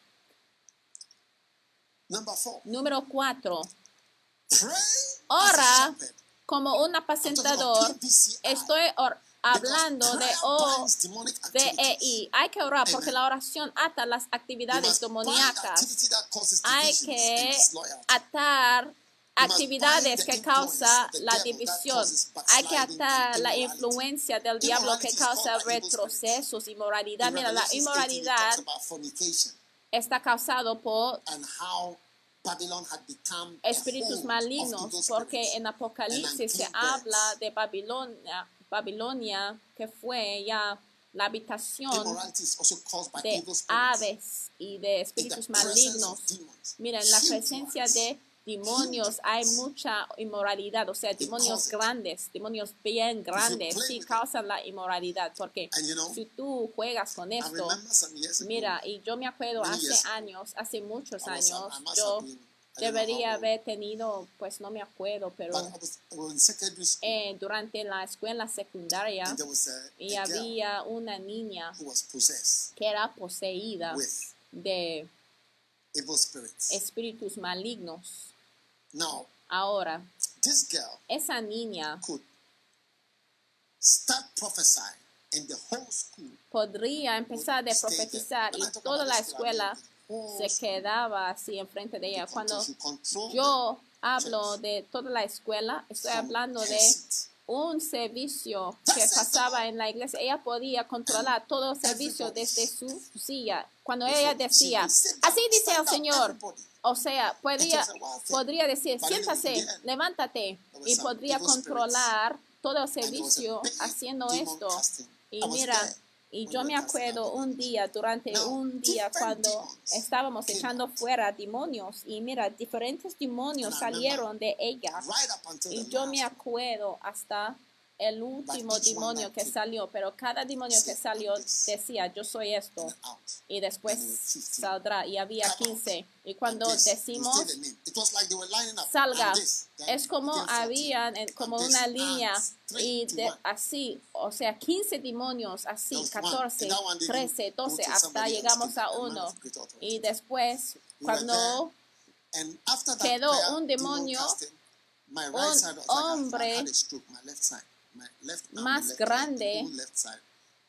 Número cuatro. Ora como un apacentador. Estoy hablando de O D E I. Hay que orar porque la oración ata las actividades demoníacas. Hay que atar actividades que causa la división. Hay que atar la influencia del diablo que causa retrocesos, inmoralidad. Mira, la inmoralidad está causado por espíritus malignos, porque en Apocalipsis se habla de Babilonia, Babilonia que fue ya la habitación de aves y de espíritus malignos. Mira, en la presencia de demonios, hay mucha inmoralidad, o sea, demonios grandes, demonios bien grandes, sí causan la inmoralidad, porque And you know, si tú juegas con I esto, remember some years ago, mira, y yo me acuerdo many hace years ago, años, hace muchos I was, años, I must yo have been, I don't know debería how old, haber tenido, pues no me acuerdo, pero but I was, I was in secondary school, eh, durante la escuela secundaria, and there was a, y a girl había una niña who was possessed que era poseída with de evil spirits. espíritus malignos. Now, Ahora, this girl esa niña could start prophesying, and the whole school podría empezar a stay there. profetizar When y I talk toda about la the school, I mean escuela the whole se school. quedaba así enfrente de ella. She Cuando control- she control yo hablo de toda la escuela, estoy from hablando her de seat. un servicio That que says the pasaba Lord. en la iglesia. Ella podía controlar todo el servicio Everybody desde su silla. Cuando Before ella she decía, would sit down, así dice stand el up, Señor, everybody. o sea, podría, It was a wild thing. podría decir, But anyway, siéntase, in the end, levántate, there was y some podría evil controlar todo el And there was a servicio big haciendo demon esto. casting. I Y was mira, there y when yo we me were casting out acuerdo un demons. día, durante Now, un día, different cuando demons estábamos came echando out. fuera demonios, y mira, diferentes demonios And I remember salieron de ella. Right up until Y the yo last me acuerdo hasta el último each one demonio that que came salió, pero cada demonio que said, salió "I'm this." decía, yo soy esto, and out. y después And there were fifteen. saldrá, y había Come out. quince. Y cuando And this, you decimos, say the name. It was like they were lining up. salga, And this, then es como became fourteen. habían en- como And this, una and línea, three y to de, one. así, o sea, quince demonios, así, There was one. catorce, And that one they trece, didn't go doce, to hasta somebody else, llegamos to a the man uno. of great authority. Y después, We were cuando And after that quedó prayer, un demon demonio, casting, my right un side was like I- I hombre had a stroke. My left side, my left arm, más my left leg, grande the whole left side.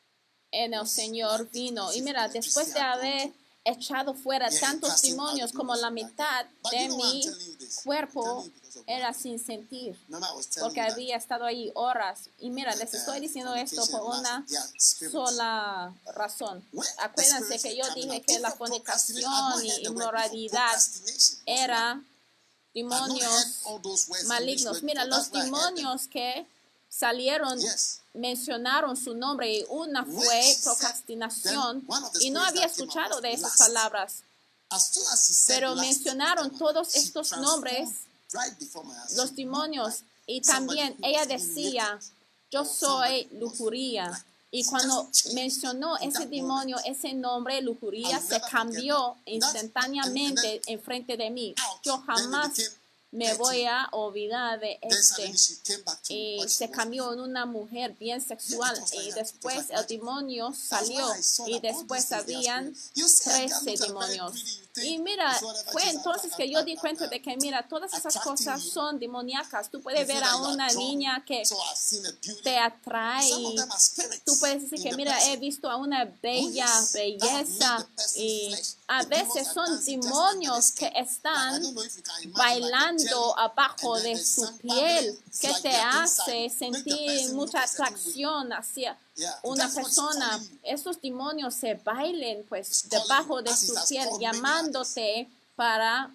en el was Señor like vino. as Y if mira, electricity después de had gone haber through. echado fuera Yeah, tantos casting out demonios, the como demons la like that. mitad But de you know why I'm mi telling you this? I'm cuerpo telling you because of what era happened. sin sentir, Remember, I was telling porque you that, había estado ahí horas. Y mira, les uh, estoy diciendo esto fornication por and una lust, they are spirits. sola razón. When the Acuérdense spirits que were yo coming dije out, que la even procrastination, I've fornicación not y heard the word before. inmoralidad Procrastination was one. era I've not heard demonios all those words, English malignos. words Mira, before. los That's why I heard them. demonios que salieron Yes. mencionaron su nombre, y una When fue she said, procrastinación, then one of the y no spirits había that came out escuchado was de esas lust. palabras, As soon as she said pero lust, mencionaron Emma, todos she estos transformed nombres, right before my eyes. los She demonios, looked y like somebody también who ella was decía, naked. yo or somebody soy who was lujuria. like- Y she cuando just changed mencionó in ese that demonio, moment. ese nombre, lujuría, I'll se never forget cambió that. That's- instantáneamente and then enfrente de mí. out, Yo then it jamás became me dirty. voy a olvidar de Then este. suddenly she came back to Y what she se was cambió before. en una mujer bien sexual, Yeah, it was like y that. It was después like el magic. demonio That's salió, why I saw y that all después these things, they are habían spirits. You see a girl trece who's very demonios. pretty, you think Y mira, it's whatever, fue she's entonces attra- que yo attra- di cuenta de que, mira, todas esas attracting cosas you. son demoníacas. Tú You puedes feel ver that a you are una drawn. niña que So I've seen a beauty. te atrae, Some of y them are spirits tú puedes decir in que, the mira, he person. visto a una bella Oh, yes. That have belleza, made the person's y flesh. a The demons veces are son dancing just under the demonios que skin. Like, I están don't know if you can imagine, like a bailando jelly, abajo and then de there's su some piel, bubbling. It's que like te they're hace inside. Make the sentir person look mucha a certain way. atracción hacia Yeah, una that's what it's persona. calling you. Estos demonios se bailen pues It's calling debajo you, de as it su has piel, called many llamándote para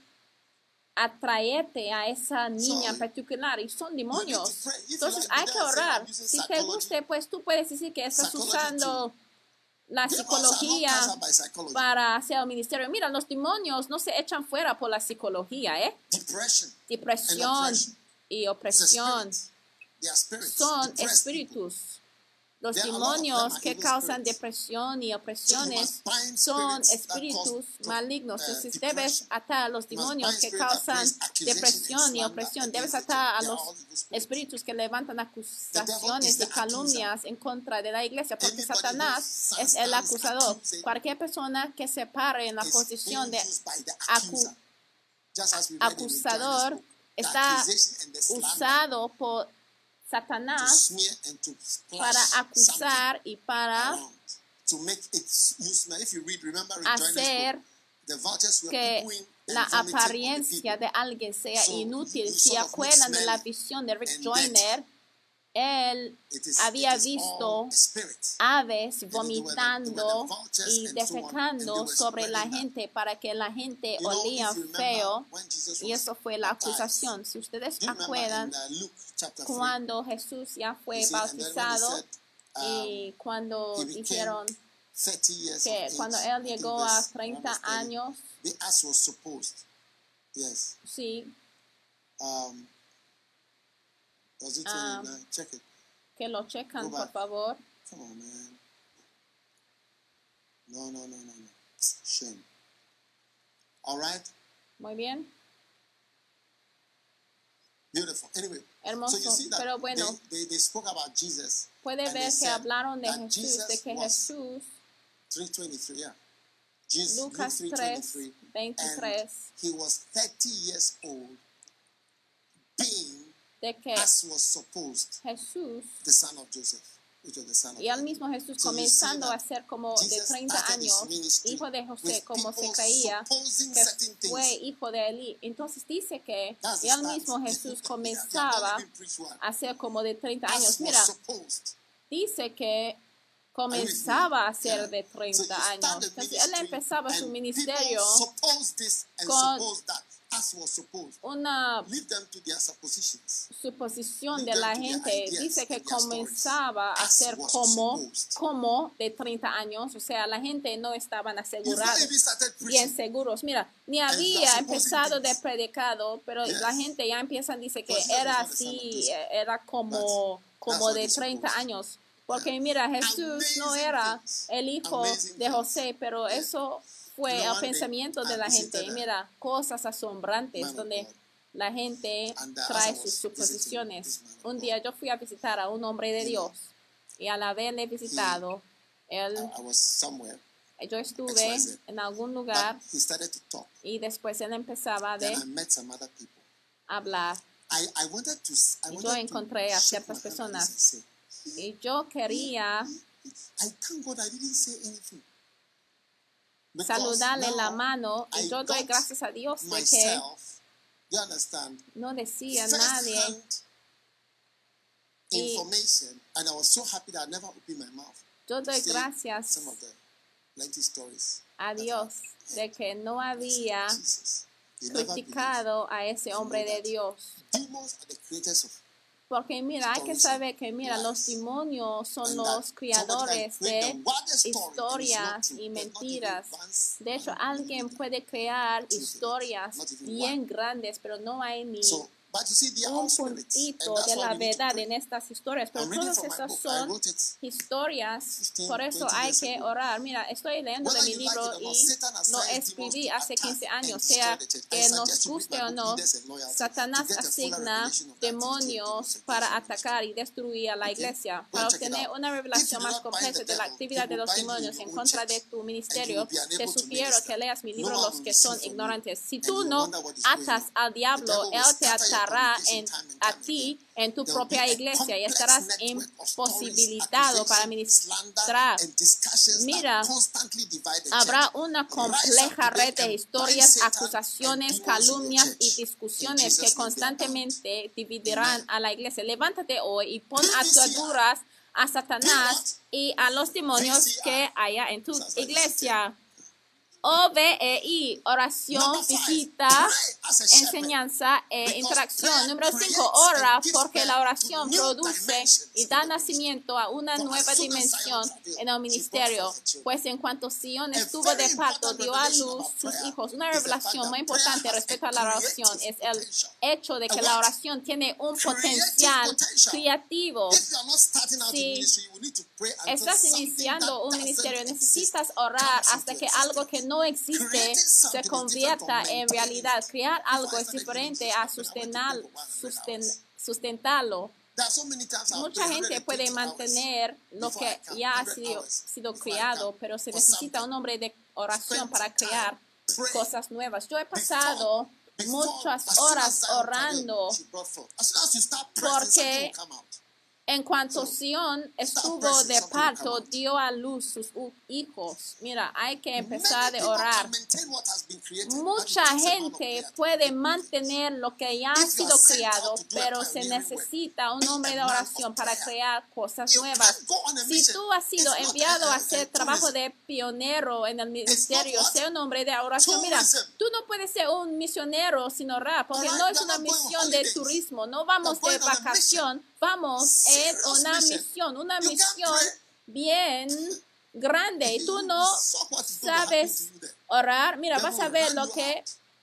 atraerte a esa niña en So, particular, y son You need demonios. to pray. If you Entonces like hay to que dance, say, orar. I'm using Si te psychology. guste, pues tú puedes decir que estás Psychology usando la Demons are not psicología cast out by psychology. para hacer el ministerio. Mira, los demonios no se echan fuera por la psicología, ¿eh? Depression. Depresión oppression. y It's a opresión spirit. They are spirits. son Depressed people. espíritus. Los There are a lot of them demonios are que evil causan spirits. depresión y So you opresiones must bind son spirits that cause espíritus pro- malignos. uh, Entonces depression. debes atar a los You must demonios bind que spirit that causan brings accusation depresión and y slander opresión. Debes against the atar a church. They are los all evil spirits. espíritus que levantan devil acusaciones is y the calumnias en contra de la iglesia, porque Anybody Satanás who es el stands acusador. accusing Cualquier persona que se pare en la is posición de being used by the acu- accuser. Just as we read in acusador John's book, the está accusation and the slander usado por to Satanás smear and to splash para something acusar y para around, to make it use. Now, if you read, remember in John's hacer book, the vultures were que pooing la and vomiting on the apariencia people. de alguien sea So, inútil. you Si sort of look acuerdan de la smelly visión de Rick and Joyner, él It is, había it is visto all spirits. aves they were the- they were the vomitando vultures y and so on, and they defecando were sobre la spreading that. gente para que la gente You know, olía if you remember feo, when Jesus y was eso fue la baptized, acusación. Si ustedes do you remember acuerdan, in uh, Luke chapter three, cuando Jesús ya fue you see, and then when they bautizado, said, um, y cuando he became dijeron thirty years que of age, cuando I él think llegó a verse treinta around verse thirty, años, the ass was supposed, yes, sí, Um, was it Um, twenty-nine? Check it. Que lo checan, Go por back. favor. Come on, man. No, no, no, no, no. Shame. All right? Muy bien. Beautiful. Anyway, Hermoso. so you see that Pero bueno, they, they, they spoke about Jesus. puede and they ver que said hablaron de that Jesús, Jesus de que was Jesús, three twenty-three, yeah. Jesus, Lucas Luke tres, three twenty-three, veintitrés, and he was thirty years old, being, de que as was supposed, Jesús, the son of Joseph, which was the son of y al Mary. mismo Jesús So you see comenzando that a ser como de Jesus treinta started his años, ministry hijo de José, with como se people creía supposing que certain things. fue hijo de Elí. Entonces dice que That's the y al start. mismo Jesús They comenzaba have not even preached one. a ser como de treinta As años. was Mira, supposed. dice que comenzaba a ser Yeah. de So treinta you start años. the Entonces él ministry empezaba su and ministerio people suppose this and con suppose that, as was supposed. una Leave them to their suppositions. suposición Leave de them la to their gente. ideas Dice que and their stories. comenzaba a As ser was como, supposed. como de treinta años. O sea, la gente no estaban You've not asegurados, even started bien preaching. seguros. Mira, ni And you había are supposing empezado de things. predicado, pero Yes. la gente ya empieza, dice que But Jesus era was not the son of así, Joseph. eh, era como, como what de they treinta supposed. años. Porque mira, Jesús no Amazing era things. el hijo Amazing de things. José, pero Yeah. eso fue You know, el one day, pensamiento de I la gente. visited Y a mira, cosas asombrantes man of donde God. la gente And, uh, as I trae was sus visiting suposiciones. this man of Un God, día yo fui a visitar a un hombre de you Dios know, y al haberle visitado, él, I, I was somewhere, yo estuve X Y Z. en algún but lugar he started to talk. y después él empezaba Then de I met some other people. hablar. I, I wanted to, I Y wanted yo encontré to a shake ciertas my hand like this and personas say, y yo quería I thank God I didn't say anything. Because saludarle la now mano y I yo doy got gracias a Dios de que myself, you understand, no decía first nadie. hand Y information, and I was so happy that I never opened my mouth yo to doy say gracias some of the plenty stories a that Dios I de que no había Jesus. They never believed. criticado a ese hombre de Dios. Demons are the creators of. Porque mira, hay que saber que mira, los demonios son los creadores de historias y mentiras. De hecho, alguien puede crear historias bien grandes, pero no hay ni So, but you see, they are un all spirits, puntito and that's de why la we need to verdad pray. en estas historias. Pero I'm reading todas from my esas book. I son wrote it historias, fifteen, por eso twenty hay years que ago. orar. Mira, estoy leyendo de Whether mi you like libro it or not, y Satan lo assigns escribí demons to hace quince attack años, and sea destroy the church. I que nos suggest you read guste my o book, no. Leaders and Loyalty, Satanás to get a fuller asigna revelation of the activity of demonios demons para against you. atacar y destruir a la Okay? iglesia, Go para and check it obtener out. una If revelación you do más not bind completa the de la devil, actividad he de will los bind you in demonios your en own contra de church, tu and you ministerio, will be te unable to sugiero minister. que leas mi No libro one Los will que receive son from you, ignorantes. Si and tú you no wonder what is going atas on. al The diablo, devil will él te scatter your atará congregation en, time and a time ti again. en tu There will be propia a iglesia y complex estarás network of stories, imposibilitado para accusation, slander, ministrar. and discussions Mira, that constantly divide the habrá church. una Rise up compleja today red de and bind historias, Satan and acusaciones, demons in your calumnias y church. In discusiones que Jesus' name they are bound. constantemente dividirán Amen. a la iglesia. Levántate hoy y pon P V C I. ataduras a Do Satanás what? y a los demonios V C I. que haya en tu Sounds like iglesia. O V E I, oración, Number five, visita, pray as a shepherd. enseñanza e Because interacción. prayer Número cinco, creates ora and gives porque birth la to oración new produce dimensions y in da the ministry. nacimiento a una For nueva as soon as dimensión Zion travailed, en el she ministerio. brought forth her children. Pues en cuanto Sion A estuvo very de parto, important dio a revelation luz about sus prayer hijos. Una is the fact revelación muy that prayer importante has a respecto a la oración creative es el potential. hecho de A que what? la oración tiene un Creative potencial potential. creativo. If you are not starting out in Si ministry, you will need to pray until estás something iniciando that un doesn't ministerio, exist necesitas orar comes hasta into que algo que existence. no existe Creating se something is different convierta from en maintaining realidad. it. Crear Before algo I es started diferente ministry, a I went to pray sustenar, for one hundred susten, hours. sustentarlo. There are so many times I've Mucha prayed gente puede one hundred twenty mantener hours lo before I que come, ya ha one hundred sido, hours sido before I creado, come pero se for necesita un something. hombre de oración Spend para time crear praying. cosas nuevas. Yo he Before, pasado before, muchas as soon as horas Zion orando travailed, she brought forth. As soon as you start pressing, something porque will come out. en cuanto So, Sion start estuvo pressing, de something will come parto, out. dio a luz sus hu- hijos. Mira, hay que Many empezar de people orar. can maintain what has been created, but it Mucha takes a man of gente prayer to puede remove it. mantener lo que ya ha If you sido are sent creado, out to do a pero se pioneering work, necesita un be hombre a de man oración of para prayer. crear cosas You nuevas. can't go on a Si mission. tú has sido It's not enviado a, a a, hacer a trabajo tourism. de pionero en el ministerio, what? sea un hombre de oración. Mira, Tourism. tú no puedes ser un misionero sin orar, porque Alright, no es we're una not going on misión de holidays. turismo, no vamos We're de going on a vacación, vamos en Serious una mission. misión, una You can't misión pray. bien grande y tú no You saw what is going to happen sabes to you there. orar. Mira, Devil vas a will ver run lo you que out.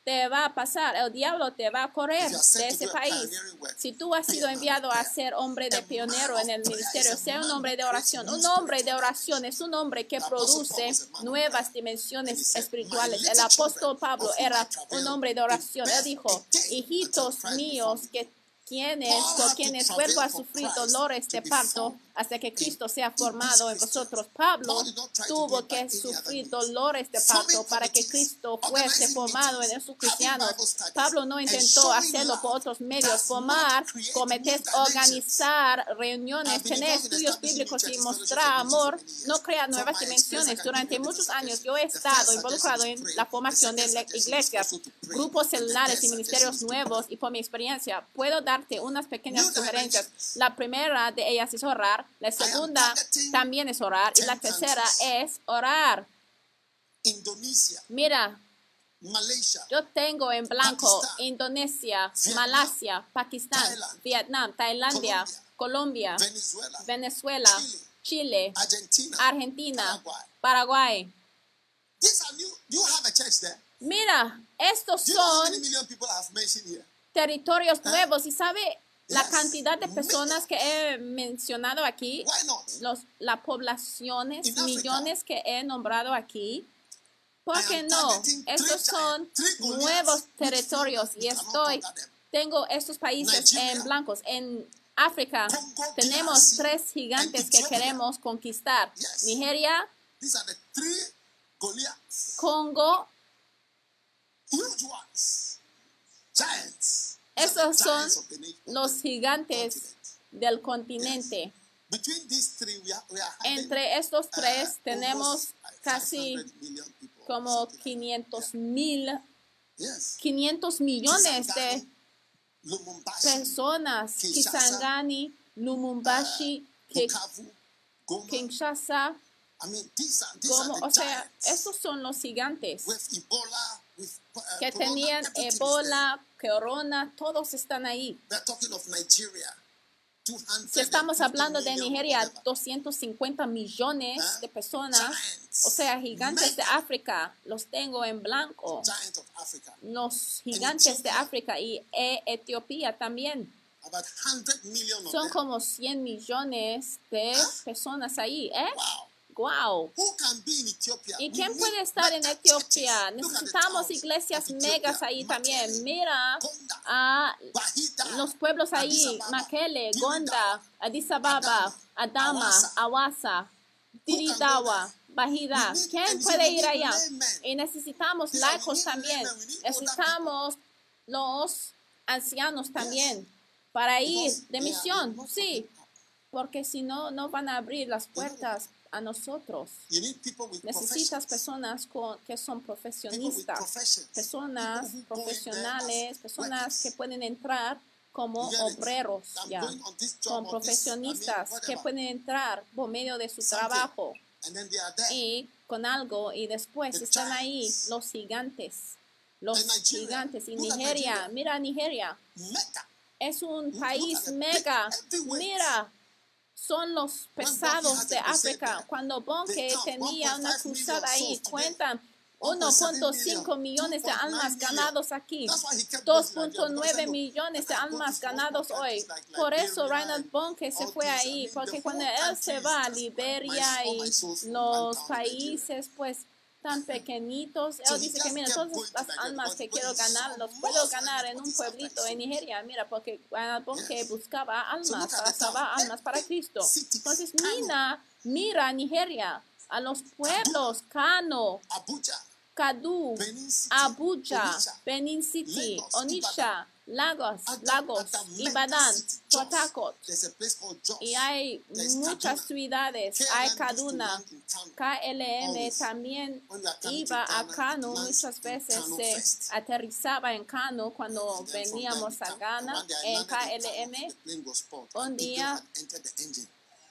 te va a pasar, el diablo te va a correr If you are sent de to ese do a país. pioneering work, Si tú has be sido a man of enviado a prayer. ser hombre de A pionero man en el of prayer ministerio, is a sea un man hombre who de creates oración. new Un hombre de spiritual oración es un hombre que The Apostle Paul produce was a man of nuevas prayer. And he dimensiones said, espirituales. "My El little apóstol children, Pablo of whom I era travail un hombre de in oración. Él birth dijo, again until hijitos Christ be míos, formed." que quienes, Paul por had to quienes travail vuelvo a for sufrir Christ dolores to de be parto formed hasta que in, Cristo sea in these formado en Christians. vosotros. Pablo Paul did not try to do tuvo it by que any other sufrir means. dolores de Forming parto para que committees, Cristo fuese organizing formado meetings, en esos having cristianos. Bible studies, Pablo no and intentó showing hacerlo por love otros medios, does formar not create comités, new dimensions. organizar I've reuniones, been tener involved in estudios establishing new bíblicos y churches, fellowships, mostrar and meetings for amor, many years. no crea From nuevas my experience, I dimensiones. can give Durante you a muchos different años suggestion. yo he The estado first involucrado suggestion is en pray. la The formación de second le- suggestion is iglesias, also to pray. grupos And the celulares third y suggestion ministerios is to nuevos, pray. y por mi experiencia puedo darte unas pequeñas New sugerencias. dimensions. La primera de ellas es orar, la I am segunda targeting también es orar y la ten tercera countries. es orar. Indonesia, Mira, Malaysia, yo tengo en blanco Pakistan, Indonesia, Vietnam, Malasia, Pakistán, Thailand, Vietnam, Tailandia, Colombia, Colombia, Venezuela, Venezuela, Chile, Chile, Argentina, Argentina, Paraguay. Paraguay. These are new. Do you have a church there? Mira, estos Do you know how son many million people I have mentioned here? territorios nuevos y sabe la Yes. cantidad de personas que he mencionado aquí, Why not? los, las poblaciones, In Africa, millones que he nombrado aquí. ¿Por I qué am no? targeting three Estos son giants, three Goliaths, nuevos which feel territorios that y we cannot estoy, conquer them. tengo estos países Nigeria, en blancos. En África Congo, tenemos D R C, tres gigantes and que Ethiopia. queremos conquistar. Yes. Nigeria, These are the three Goliaths, Congo. huge ones, giants. These are Esos the son giants of the nation, of los the gigantes continent. del continente. Between these three, we are, we are having, Entre estos tres uh, tenemos almost casi five hundred million people, como something like quinientos mil, that. Yes. quinientos millones de Kisangani, Lumumbashi, personas. Kinshasa, Kisangani, Lumumbashi, Ki- Bukavu, Goma. Kinshasa, I mean, these are, these como, are the o sea, giants. estos son los gigantes With Ebola, with uh, que corona, tenían everything is Ebola, corona, todos están ahí. there. They're talking of Nigeria. two hundred Si estamos hablando de million, Nigeria, whatever. doscientos cincuenta millones Huh? de personas, Giants. o sea, gigantes de Mega África, los tengo en blanco. giant of Africa. Los gigantes de Ethiopia. África y e- Etiopía también. About one hundred million of Son them. como cien millones de personas ahí, ¿eh? Wow. Wow. Who can be in Ethiopia? ¿Y We quién need puede estar en mega Etiopía? churches. Look at the Necesitamos towns iglesias of Ethiopia. megas ahí también. Makele, Mira Gonda, a Bahida, los pueblos Addis ahí, Ababa, Makele, Diridawa, Gonda, Addis Ababa, Adama, Adama, Awasa, Diridawa, Bahida. We need- ¿Quién and puede we ir need allá? laymen. Y necesitamos Yeah, we laicos need también. laymen, we need older Necesitamos los ancianos también para ir Because de they are misión. not Sí, open up. porque si no, no van a abrir las puertas a nosotros. You need people with Necesitas professions. personas con, que son People with profesionistas, professions. personas People who go in there profesionales, as personas workers. que pueden entrar como You get it? obreros, I'm ya, going on this job con or this, I mean, profesionistas que whatever. pueden entrar por medio de su Something. trabajo And then they are there. y con algo y después The están ahí giants. los gigantes, los And Nigeria. gigantes. Y Look at Nigeria, Nigeria. mira Nigeria, Mecca. es un Look país at the mega, big heavyweights. mira. Son los Bonke pesados has de a crusade África. there. Cuando They Bonke count tenía una one point five cruzada million ahí, souls today. cuentan one point seven uno punto cinco million, millones de two point nine almas million. ganados aquí, That's why he kept dos going to Nigeria, punto because he nueve said, "Look, millones de I go to almas small, ganados small hoy. countries like Por eso Liberia Reinhard and Bonke se all fue these. I ahí, mean, the porque whole cuando él country se is va a just my- Liberia all y my souls from one los town in Nigeria. países pues tan pequeñitos, So él he dice que just mira, kept todas going to las Nigeria almas because que when quiero he saw ganar, los most puedo of ganar en what un is after pueblito his en souls. Nigeria, mira, porque Reinhard Bonke Yes. buscaba So almas, look at para the town. salvar almas para Every Cristo. city, Entonces, Kano, mira, mira Nigeria, a los pueblos, Kano, Abuja, Kadu, Benin City, Abuja, Onitsha, Benin City, Lagos, Onitsha, Lagos, At Lagos, at the mega Ibadan, city, Port Jos. Harcourt. There's a place called Jos. Y hay There's muchas Kaduna. ciudades, K L M hay used to Kaduna, land in Kano. K L M Always. también When we are coming iba to a Ghana, Kano, it lands muchas in veces Kano se first. aterrizaba en Kano cuando And then from veníamos there a we come. Ghana And one day I en landed K in L Kano, M. the plane was spoiled. Un And people día, had entered the engine.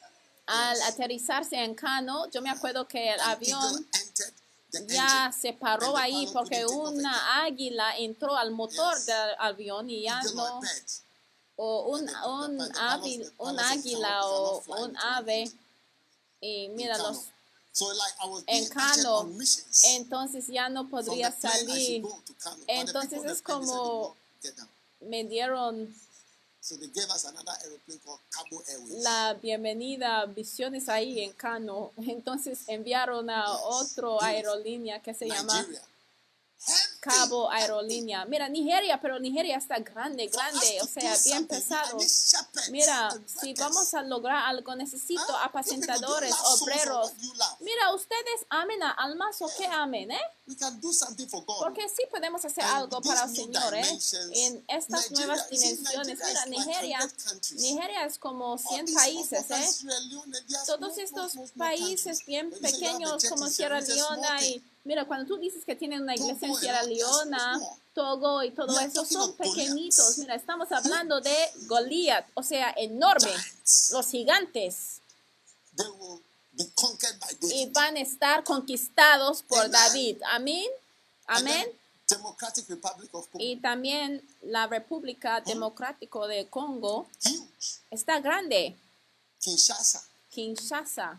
al Yes. aterrizarse en Kano, yo me acuerdo que el An eagle avión entered the ya engine. se paró And the ahí pilot porque couldn't take off una águila entró al motor Yes. del avión y ya Eagle or a no, bird. o un, And the- the- un, the pilots- avi- the un pilots of águila Kano o cannot fly un into an ave. engine. Y mira, Kano. los So like I was en being acted Kano, on missions. entonces ya no From the podría plane I should salir. go to Kano. But the Entonces people on the es plane, they said, como "No, get down." me dieron So they gave us another aeroplane called Cabo Airways. la bienvenida Visiones ahí en Kano. Entonces enviaron a Yes. otro Yes. aerolínea que se llama Nigeria. Heavy, Cabo heavy. Aerolínea. Mira, Nigeria, pero Nigeria está grande, For us grande, to o do sea, bien something, pesado. I need shepherds Mira, and si workers. vamos a lograr algo, necesito Huh? You people, do you apacentadores, love souls or obreros. what do you love? Mira, ustedes amen a almas o qué amen, ¿eh? We can do something for God. Porque sí podemos hacer And algo these para el new Señor, ¿eh? dimensions, En estas Nigeria, nuevas you see, dimensiones. Nigeria Mira, is like Nigeria, one hundred countries. Nigeria es como All cien these países, small, ¿eh? Sierra Leone, they are Todos small, estos small, small, small países countries. bien When you say you have a pequeños church como in Sierra Sierra Leone, it's a small Leona thing. y mira, cuando tú dices que tienen una iglesia en Togo, Sierra you know, they are so Leona, small. Togo y todo We are eso talking son of Goliaths. pequeñitos. Mira, estamos hablando de Goliat, o sea, enorme, Giants. los gigantes, They will be conquered by y David. van a estar conquistados por Amen. David. Amén. And then Amén. Democratic Republic of Congo. Y también la República Democrática de Congo Huge. está grande. Kinshasa. Kinshasa,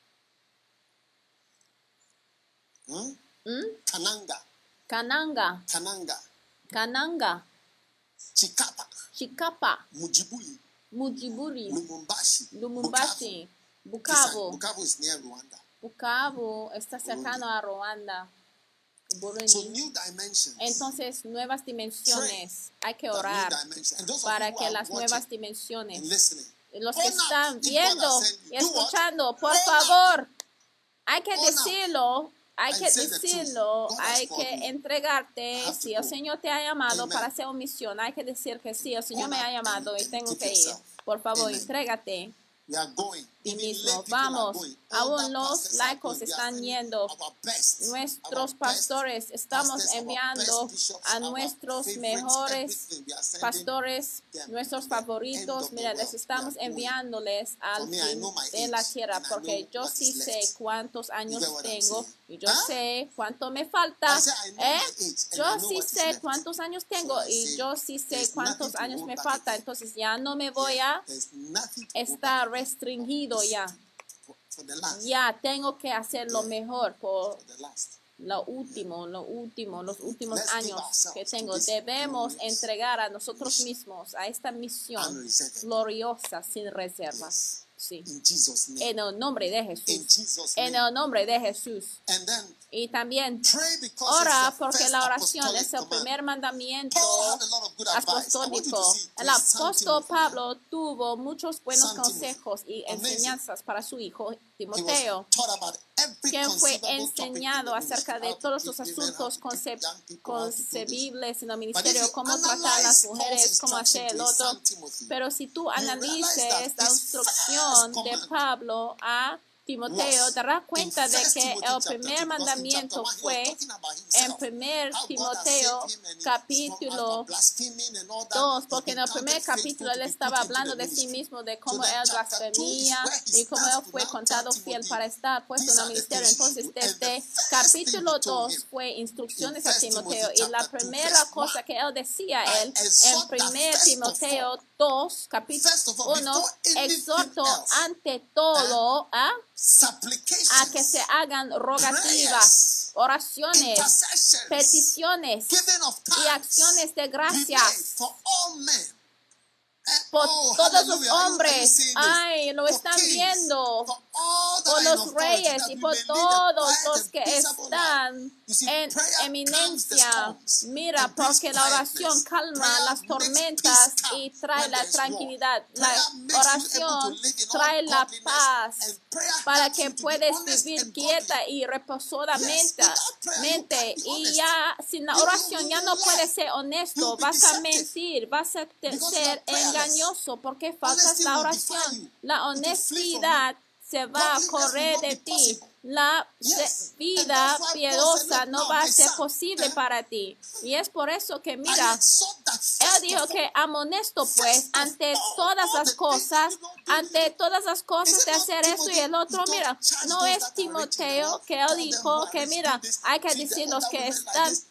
Hmm? ¿Mm? Kananga. Kananga, Kananga. Kananga, Chikapa. Chikapa, Mujibuli. Mujiburi, Lumumbashi. Lumumbashi, Bukavu. Bukavu. Bukavu is near Rwanda. Bukavu está cercano a Ruanda, So Burundi. new dimensions. Entonces, nuevas dimensiones. Hay que That new orar dimension. And those of para you who que are las watching nuevas and dimensiones, listening, los que own up. están If God viendo has sent you, y do what? escuchando, por Own up. favor, hay que Own up. decirlo, hay And que say the truth. decirlo, God has hay called que me. entregarte. I have to Si el go. Señor te ha llamado Amen. para hacer una misión, hay que decir que sí, el Señor Own me up ha llamado and- y and tengo keep que ir. yourself. Por favor, Amen. entrégate. We are going. Ti Even mismo, lay people are vamos. going. Aún Older los pastors are laicos going. We are están sending yendo. our best, Nuestros our pastores, best estamos pastors, our enviando best bishops, a our nuestros favorites, mejores everything. We are sending pastores, them nuestros to the end favoritos. of the Mira, les world. estamos We are going. enviándoles al For me, I fin know my de la age, tierra, and I porque know yo what sí is sé left. cuántos años get what I'm tengo saying? y yo Huh? sé cuánto me falta. I say, I know ¿Eh? my age, and Yo I know sí what is sé left. cuántos años So tengo I y say, yo sí sé there's cuántos nothing to años hold me back falta. again. Entonces ya no me voy Yeah, a there's nothing to hold estar back again. restringido ya. For, for the last. Ya tengo que hacer lo Yeah. mejor por For the last. lo último, lo último, los últimos Let's give años ourselves que to tengo. this Debemos glorious entregar a nosotros mission. mismos a esta misión Unreserved. gloriosa, sin reservas. Yes. Sí. In Jesus' name. En el nombre de In Jesús. Jesus' En name. el nombre de Jesús. And then Y también pray because ora it's the porque first la oración apostolic es el command. primer mandamiento Paul had a lot of good advice. I want you to apostólico. see El to his son apóstol Timothy. Pablo tuvo muchos buenos Son Timothy. consejos y Amazing. enseñanzas para su hijo He Timoteo, was taught about every quien fue conceivable topic in enseñado the acerca ministry, de how to todos treat los women, how asuntos to treat conce- young people, how to do this. concebibles en el But if ministerio, you cómo tratar a las analyze Paul's mujeres, cómo instruction hacer el to his otro. son Timothy, Pero si tú you realize analices that la his instrucción first de command Pablo a Timoteo, was te darás in cuenta de First que Timothy el chapter primer two, because in mandamiento chapter one he was fue talking about en himself, primer how God has Timoteo saved him and he- capítulo from blaspheming and all that, dos, he's porque been en el counted primer faithful capítulo to él be estaba put into hablando the de sí ministry. mismo, de So cómo then él chapter two is blasfemía where he y cómo él starts to fue now contado tell fiel Timothy, para estar puesto these en el are the ministerio. things you Entonces, do. And the desde first capítulo thing he told dos him fue instrucciones in a First Timoteo. Timothy Y la chapter two, primera verse cosa one, que él decía I él en exhort that primer first of Timoteo all, dos, capítulo first of all, uno, before anything exhorto else, ante todo a, a supplications, que se hagan rogativas, prayers, oraciones, intercessions, peticiones giving of y thanks, acciones de be made gracias for all men. Eh, por oh, todos los hallelujah. Are you- are you hombres. seeing this? Ay, lo For están kings, viendo. for all that Por are in los authority, reyes that y we por may lead a todos quiet los and que peaceable life. están You see, en prayer calms the eminencia. storms Mira, and brings porque la oración quietness. calma Prayer las makes tormentas peace come y trae when la there is war. tranquilidad. La Prayer makes you able oración to live in all trae la godliness, paz and prayer para helps que you to be puedes honest vivir and quieta godly. y Yes, reposadamente. without prayer, you mente. can't be Y honest. ya sin la You- you- oración you ya will no lie. puedes ser honesto, You'll be vas a deceptive. mentir, vas a te- Because you ser are prayerless. engañoso porque faltas Honesty la will defy oración. you. La It will flee from honestidad se va a Godliness correr will not de be ti. possible. La Yes. se- And vida that's why Paul piadosa said, "Look, no now, va a my ser son, posible eh, para ti. Y es por eso que, I mira, exhort that él first dijo of all, que amonesto pues first of ante all, todas all las the things cosas, you don't do, ante you- todas las Is cosas it de not hacer esto y Timothy? el otro. Don't Mira, charge no those es that are rich in the Timoteo world. que él Tell them dijo who are que rich, mira, do this, hay que treat the decir los older que women like están this.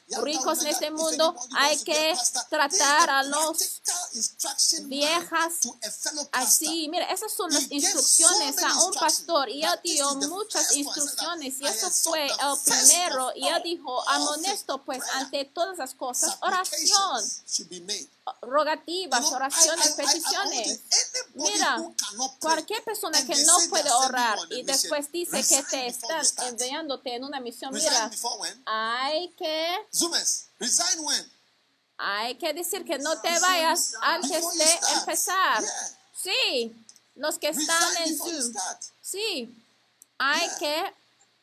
ricos en este mundo, hay que tratar a los viejas así. Mira, esas son las instrucciones a un pastor. Y él dio muchas instrucciones y eso fue el primero. Y él dijo, amonesto pues ante todas las cosas, oración, rogativas, oraciones, peticiones. Mira, cualquier persona que no puede orar y después dice que te están enviándote en una misión, mira, hay que, hay que decir que no te vayas antes de empezar. Sí, los que están en Zoom. Sí, hay que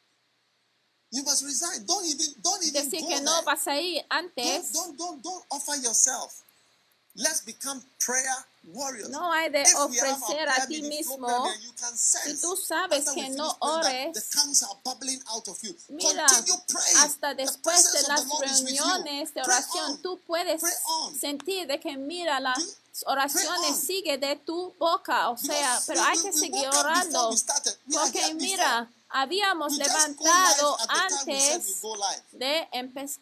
You must resign. Don't even, don't even decir go que no there. vas a ir antes. Don't, don't, don't, don't offer yourself. Let's become prayer warriors. No hay de If we have our ofrecer prayer a ti meeting flow mismo. prayer, you can sense Si tú sabes after we que finish no praying that ores, the tongues are bubbling out of you. mira, Continue praying. hasta The después de presence of las the Lord is with you. reuniones de Pray oración, on. tú puedes Pray on. sentir de que mira las Pray oraciones on. sigue de tu boca, o sea, Because pero we- hay we- que we seguir woke up orando, before we started. We are porque here mira, before. habíamos You just go levantado live at the time we said antes we go live. de empezar,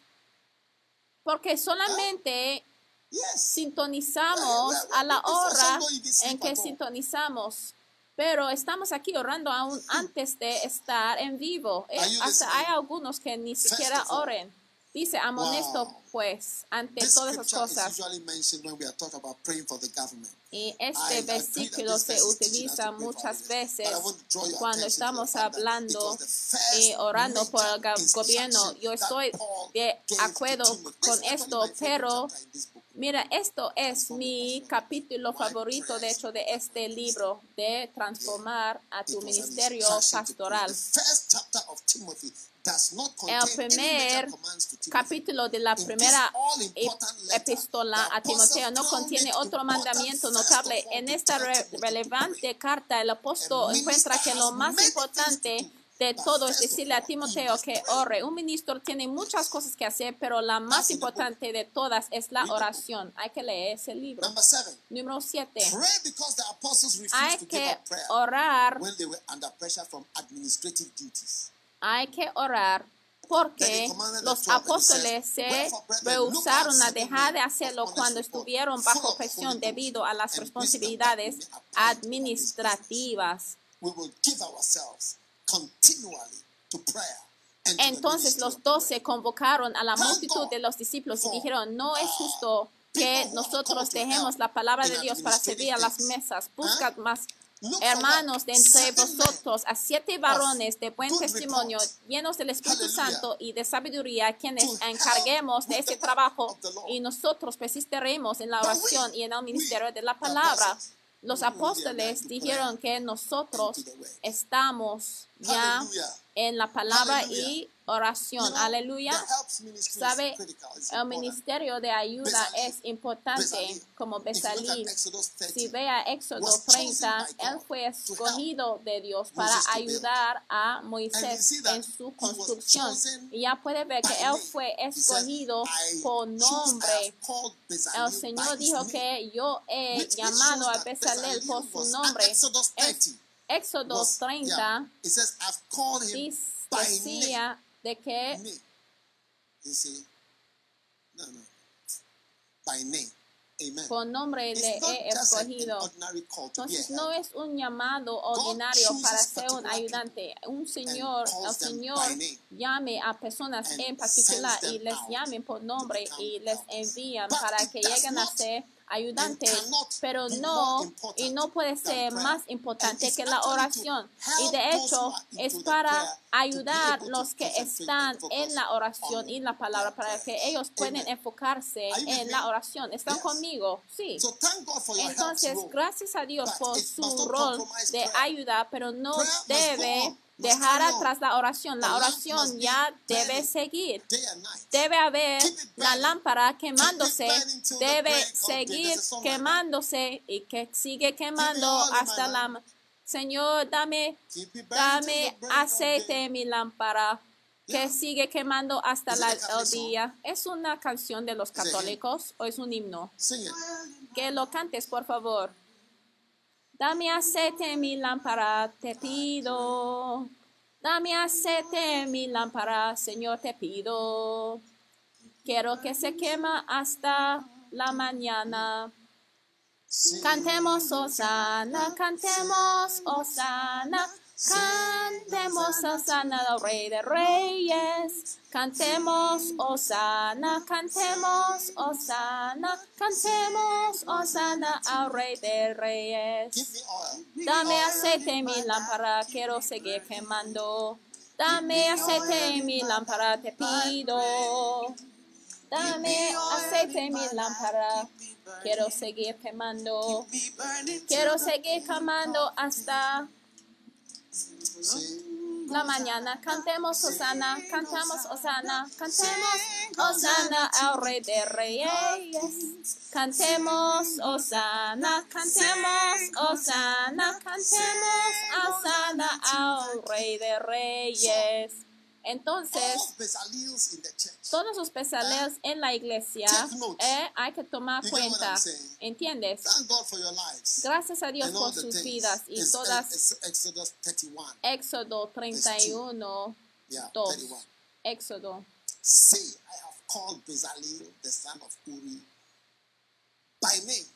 porque solamente Yes. sintonizamos Yeah, yeah, a la before hora some don't even sleep en que at all. sintonizamos, pero estamos aquí orando aún antes de estar en vivo. Eh, Are you hasta hay listening? algunos que ni First siquiera of all, oren. Dice, amonesto wow. pues ante This todas las scripture is cosas. usually mentioned when we are talking about praying for the government. Y I este agree that versículo this se verse is teaching us utiliza to pray for muchas others. veces But I want to draw your cuando attention to the estamos fact that it hablando was the first y orando por el major ga- gobierno. instruction Yo that estoy Paul de gave to acuerdo Timothy. con This is actually esto, my favorite pero chapter in this book. mira, esto es Transform mi your passion. capítulo My favorito, de prayers hecho, de for este government. libro, de transformar a It tu was an ministerio instruction to pray. pastoral. The first chapter of Timothy does not El contain any major primer commands to Timothy. capítulo de la In this primera all-important letter, epístola the a Timoteo apostle no contiene found it otro important mandamiento first notable. of all En to esta tell re- Timothy to relevante pray. carta, el apóstol A encuentra minister que lo has más many importante things to do, de but todo es first of decirle a all, he Timoteo must que pray. ore. Un ministro tiene muchas cosas que hacer, pero la más That's in the book. importante de todas es la Read the book. oración. Hay que leer ese libro. Number seven, Número siete. pray because the apostles refused Hay to give que up prayer orar, when they were under pressure from administrative duties. hay que orar porque los apóstoles se rehusaron a dejar de hacerlo cuando estuvieron bajo presión debido a las responsabilidades administrativas. We will give ourselves continually to prayer. and to the Entonces ministry los of prayer. doce convocaron a la multitud de los discípulos y dijeron, no es justo que nosotros dejemos la palabra de Dios para servir a las mesas. Buscad más hermanos de entre vosotros a siete varones de buen testimonio, llenos del Espíritu Santo y de sabiduría, quienes encarguemos de ese trabajo, y nosotros persistiremos en la oración y en el ministerio de la palabra. Los apóstoles dijeron que nosotros estamos ya en la palabra y oración. Aleluya. ¿Sabe? El ministerio de ayuda es importante, como Besalí. Si ve a Éxodo treinta, él fue escogido de Dios para ayudar a Moisés en su construcción. Y ya puede ver que él fue escogido por nombre. El Señor dijo que yo he llamado a Bezalel por su nombre. Es Éxodo treinta decía de que Me. You see? No, no. By name. Amen. por nombre It's le not he just an escogido. ordinary call to be a Entonces helper. no es un llamado ordinario chooses para ser un particular ayudante. Un Señor, and el calls them Señor by name llame a personas and en particular sends y them les out llamen por nombre become y les helpers. envían But para it que does lleguen a not ser ayudantes, and cannot pero be no, more important y no puede than ser prayer. más And importante it's que la actually to oración. Y help de those hecho who are into es the para prayer to be ayudar able to los que concentrate están and focus en la oración on y la palabra their para que prayers. ellos puedan Amen. enfocarse Are you with en me? la oración. ¿Están Yes. conmigo? Sí. So thank God for your Entonces, help role. gracias a Dios But por it su must not rol compromise de prayer. ayuda, pero no Prayer must go debe on, must dejar carry on. atrás la oración. La The lamp oración must be ya debe burning seguir. Day and night. Debe haber Keep it la burning. lámpara quemándose, Keep it burning till the debe break of day. seguir There's a song like that. quemándose y que sigue quemando all of my hasta la... lamp. Señor, dame, Keep it burning till dame the break of aceite day. en mi lámpara, que Yeah. sigue quemando hasta Is it la, a Catholic el día. ¿Es una canción de los it a hymn? católicos o es un himno? Sing it. Que lo cantes, por favor. Dame aceite en mi lámpara, te pido. Dame aceite en mi lámpara, Señor, te pido. Quiero que se quema hasta la mañana. Sing. Cantemos Osana, cantemos Osana, cantemos Osana al Rey de Reyes. Cantemos Osana, cantemos Osana, cantemos Osana al Rey de Reyes. Give me oil. Dame aceite en mi lámpara, quiero seguir quemando. Dame aceite en mi lámpara, te pido. Dame aceite en mi lámpara, quiero seguir quemando. Quiero seguir quemando hasta Sing. la mañana. Cantemos Osana, cantamos Osana, cantemos Osana al Rey de Reyes. Cantemos Osana, cantemos Osana, cantemos Osana al Rey de Reyes. Entonces, All Bezalels in the church. todos los bezaleos en la iglesia, Take notes. eh, hay que tomar You get what cuenta. I'm saying? ¿Entiendes? Thank God for your lives. Gracias a Dios And all por the sus things. vidas y It's- todas. it's Exodus thirty-one. Éxodo treinta y uno, Yeah, dos. thirty-one. Éxodo. Say, I have called Bezalel, the son of Uri, by name.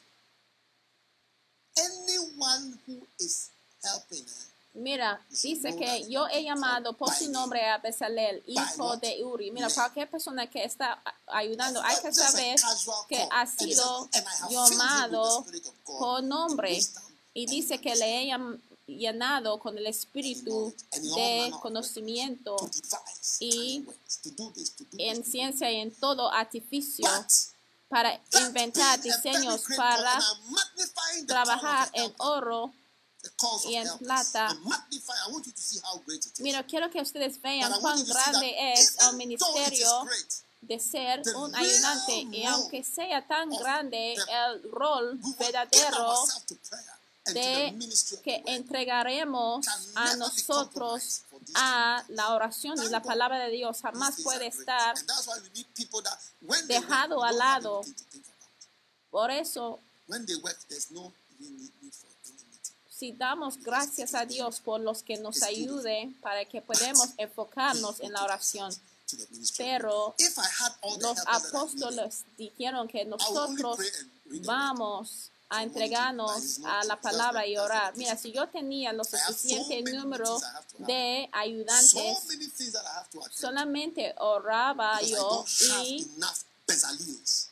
Anyone who is helping her, Mira, dice que yo he llamado por su nombre a Bezalel, hijo de Uri. Mira, cualquier persona que está ayudando, hay que saber que ha sido llamado por nombre. Y dice que le he llam- llenado con el espíritu de conocimiento to devise y cunning works, to do this, to do en this. ciencia y en todo artificio But para that inventar being a very diseños great para God, and I'm magnifying the trabajar call of en oro. the cause of y en helpers. plata. I'm magnifying. I want you to see how great it is. Mira, quiero que ustedes But vean I want cuán you to see that grande es el even though it is ministerio great, de ser the un real ayudante. Y role aunque sea tan of grande the- el rol we will give verdadero ourselves to prayer and to the de ministry of que the word. entregaremos Can a never be nosotros compromised for this a la oración y Thank la God. palabra de Dios jamás These things puede are great. estar. And that's why we need people that when they work, dejado we al don't have lado. anything to think about. Por eso, When they work, there's no even need need for any meeting. si damos gracias a Dios por los que nos ayude para que podamos enfocarnos en la oración. To the ministry. Pero If I had all the los helpers that I needed, apóstoles dijeron que I would only nosotros pray and read the word. vamos a entregarnos a la palabra y orar. Mira, si yo tenía lo suficiente número de So ayudantes, many things that I have to attend to, solamente oraba because I yo don't have y enough Bezalels.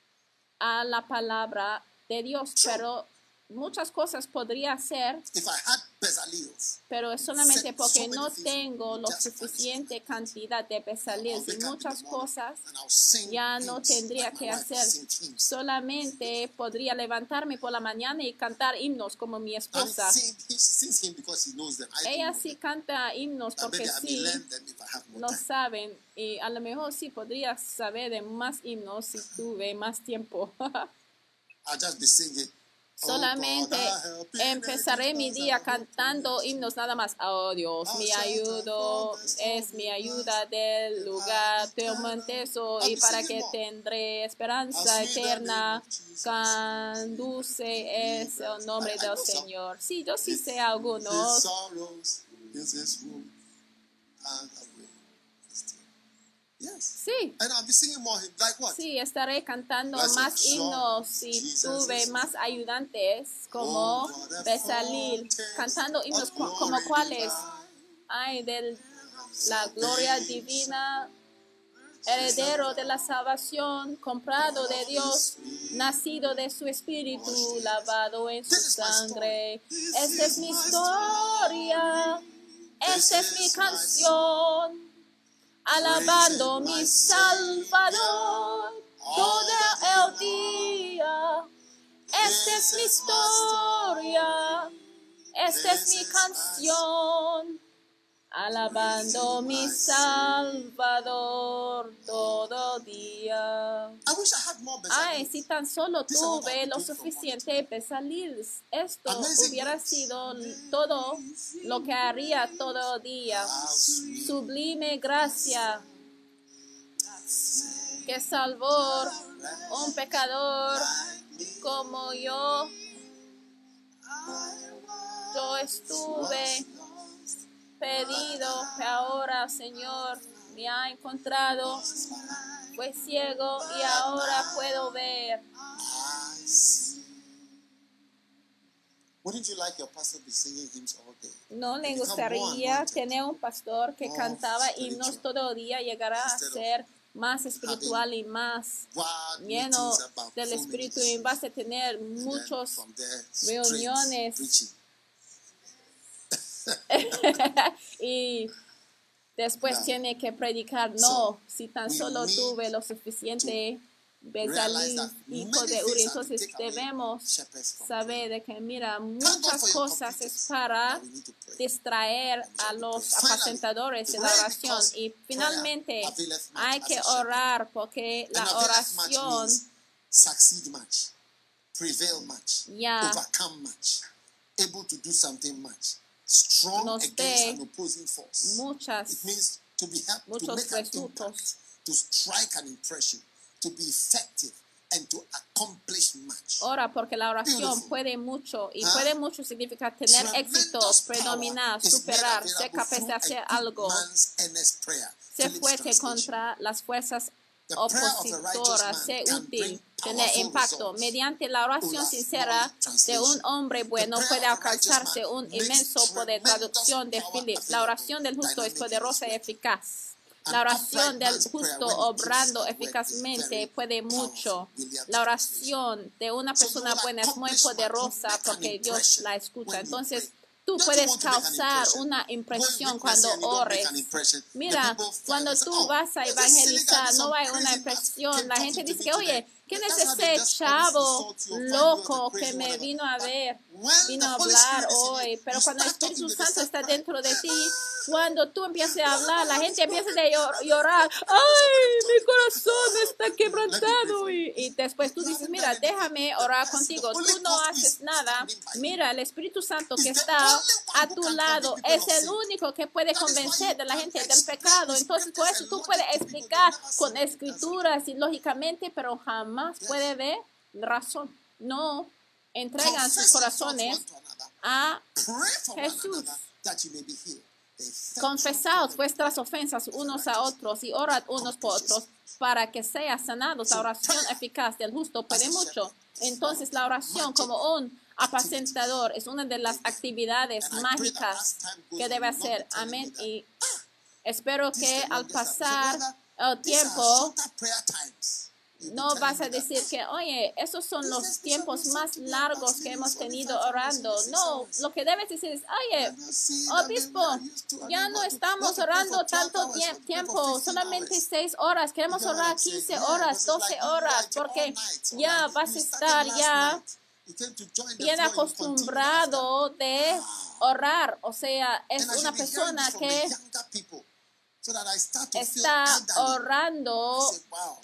a la palabra de Dios, pero muchas cosas podría hacer, If I had Bezalels, pero es solamente porque no tengo lo suficiente cantidad de I'll bezaleles y wake up in muchas the morning cosas and I'll sing ya no hymns tendría like my que wife hacer. sings hymns. Solamente podría levantarme por la mañana y cantar himnos como mi And esposa. sing, she sings him because she knows them. I Ella don't know sí them. canta himnos But porque maybe I may sí learn them if I have more lo time. saben y a lo mejor sí podría saber de más himnos si tuve más tiempo. I'll just be singing. Solamente empezaré mi día cantando himnos nada más. Oh Dios, mi ayudo es mi ayuda del lugar tormentoso y para que tendré esperanza eterna. Conduce es el nombre del Señor. Sí, yo sí sé algunos. His sorrows is his wound and away his tears. Yes. Sí, And I'll be singing more hymns. Like what? sí, estaré cantando Blessed más assurance, himnos si Jesus tuve is más ayudantes como Bezalel, cantando himnos cu- como cuáles. Ay, de la gloria divina, heredero de la salvación, comprado de Dios, nacido de su espíritu, lavado en su sangre. Esta es mi historia, esta es mi canción, alabando mi Salvador todo el día. Esta es mi historia, esta es mi canción, alabando mi Salvador todo día. I wish I had more Ay, Bezalels. si tan solo This is what tuve I've lo been doing for suficiente Bezalel, esto Amazing hubiera grace. sido todo lo que haría todo el día. How sweet Sublime gracia que salvó un pecador como yo. Yo estuve pedido que ahora, Señor, me ha encontrado. fue ciego y ahora puedo ver. I see. Wouldn't you like your pastor to be singing hymns all day? ¿No le You become more gustaría anointed. tener un pastor que More cantaba spiritual. himnos todo el día? Llegará a Instead of ser más espiritual y más Wild lleno meetings about del full Espíritu, y ministry. vas a tener And then muchos from there, straight reuniones. preaching. y después No. tiene que predicar. So, No, si tan we solo need tuve lo suficiente, realize Bezalí, that hijo many de Uri. things are to Entonces take away debemos shepherds from saber de que, mira, Thank God muchas for your cosas es computers para that we need to pray. distraer a los apacentadores de la oración. Y finalmente hay que orar, porque And la availeth much oración means succeed much, prevail much, ya overcome much, able to do something much, strong nos against dé an opposing force. It muchas means to be help, to muchos make an frutos. impact, to strike an impression, to be effective, and to accomplish much. Ora, porque la oración Beautiful. puede mucho, y Huh? puede mucho significar tener éxito, Tremendous predominar, power is superar, made ser available capaz de through hacer a good algo, man's earnest prayer. ser Philip's fuerte translation. contra las fuerzas The prayer of a righteous opositoras, man ser can útil, bring tener powerful impacto. results. Mediante la oración Olaf sincera Morley de translation. un hombre bueno The prayer puede of a righteous alcanzarse man un makes inmenso poder. tremendous Traducción de power Phillips. La available, oración del justo es dynamic in poderosa y his work. eficaz. An La oración upright del man's prayer, justo when it obrando puts at work, is eficazmente very puede powerful. mucho. William La translation. oración de una So persona you will buena es muy accomplish much. poderosa You make an porque Dios impression la escucha. when you Entonces, pray. tú Don't you puedes want to make an causar impression? una Go and impresión witness cuando and you don't make ores. an impression. The Mira, people fly cuando and say, tú "Oh, vas a there's this silly guy, evangelizar, this no some hay una crazy impresión. came La talking gente to dice me que, today." oye, ¿quién That's es how they ese just always chavo insult you or find you as a loco crazy que me whatever. vino a But ver? when Vino a the Holy hablar Spirit is in you, hoy. Pero you cuando el start talking Espíritu to the Santo same está prayer. dentro de ti, cuando tú empiezas a hablar, la gente empieza a llor- llorar. ¡Ay, mi corazón está quebrantado! Y, y después tú dices, mira, déjame orar contigo. Tú no haces nada. Mira, el Espíritu Santo que está a tu lado es el único que puede convencer de la gente del pecado. Entonces, por eso tú puedes explicar con escrituras y lógicamente, pero jamás puede ver razón. No entregan sus corazones a Jesús. Confesaos vuestras ofensas unos a otros y orad unos por otros para que sean sanados. La oración eficaz del justo puede mucho. Entonces, la oración como un apacentador es una de las actividades mágicas que debe hacer. Amén. Y espero que al pasar el tiempo no vas a decir que, oye, esos son los tiempos más largos que hemos tenido orando. No, lo que debes decir es, oye, obispo, ya no estamos orando tanto tie- tiempo, solamente seis horas. Queremos orar quince horas, doce horas, porque ya vas a estar ya bien acostumbrado de orar. O sea, es una persona que está orando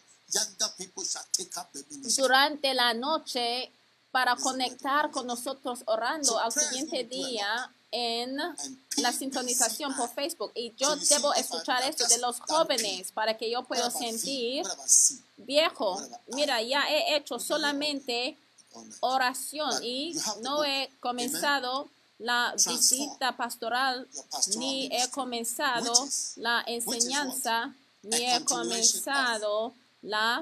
durante la noche para conectar con nosotros orando al siguiente día en la sintonización por Facebook. Y yo debo escuchar esto de los jóvenes para que yo pueda sentir viejo. Mira, ya he hecho solamente oración y no he comenzado la visita pastoral, ni he comenzado la enseñanza, ni he comenzado la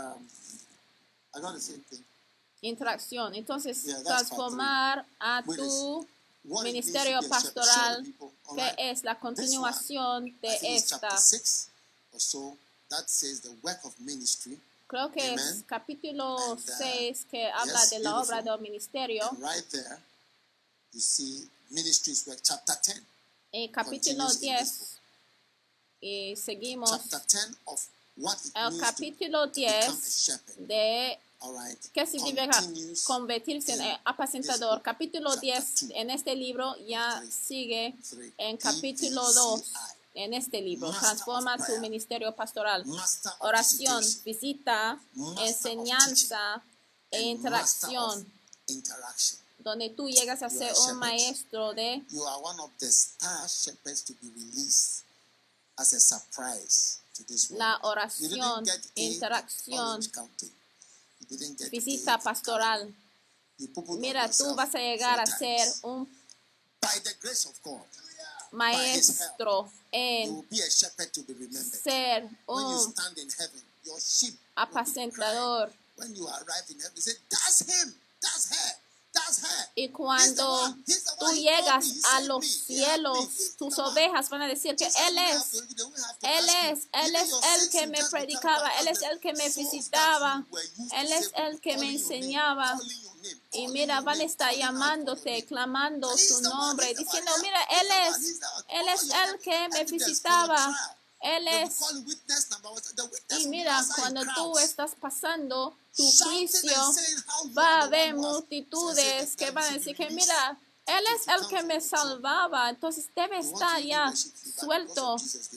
interacción. Entonces, transformar a tu ministerio pastoral, que es la continuación de esta. Creo que es capítulo seis que habla de la obra del ministerio. En capítulo diez, y seguimos el capítulo diez de ¿qué significa convertirse en apacentador? Capítulo diez en este libro ya sigue en capítulo dos en este libro. Transforma tu ministerio pastoral. Oración, visita, enseñanza e interacción, donde tú llegas a ser un maestro de la oración, interacción, visita pastoral. Mira, tú vas a llegar a ser un maestro en ser un your sheep apacentador. when you arrive in heaven. He said, that's him, that's her, that's her. Y cuando tú llegas a los cielos, tus ovejas van a decir que Él es, Él es, Él es el que me predicaba, Él es el que me visitaba, Él es el que me enseñaba. Y mira, van a estar llamándote, clamando su nombre, diciendo, mira, Él es, Él es el que me visitaba, Él es. Y mira, cuando tú estás pasando tu juicio, va a haber multitudes que van a decir que mira, Él es el que me salvaba, entonces debe estar ya suelto.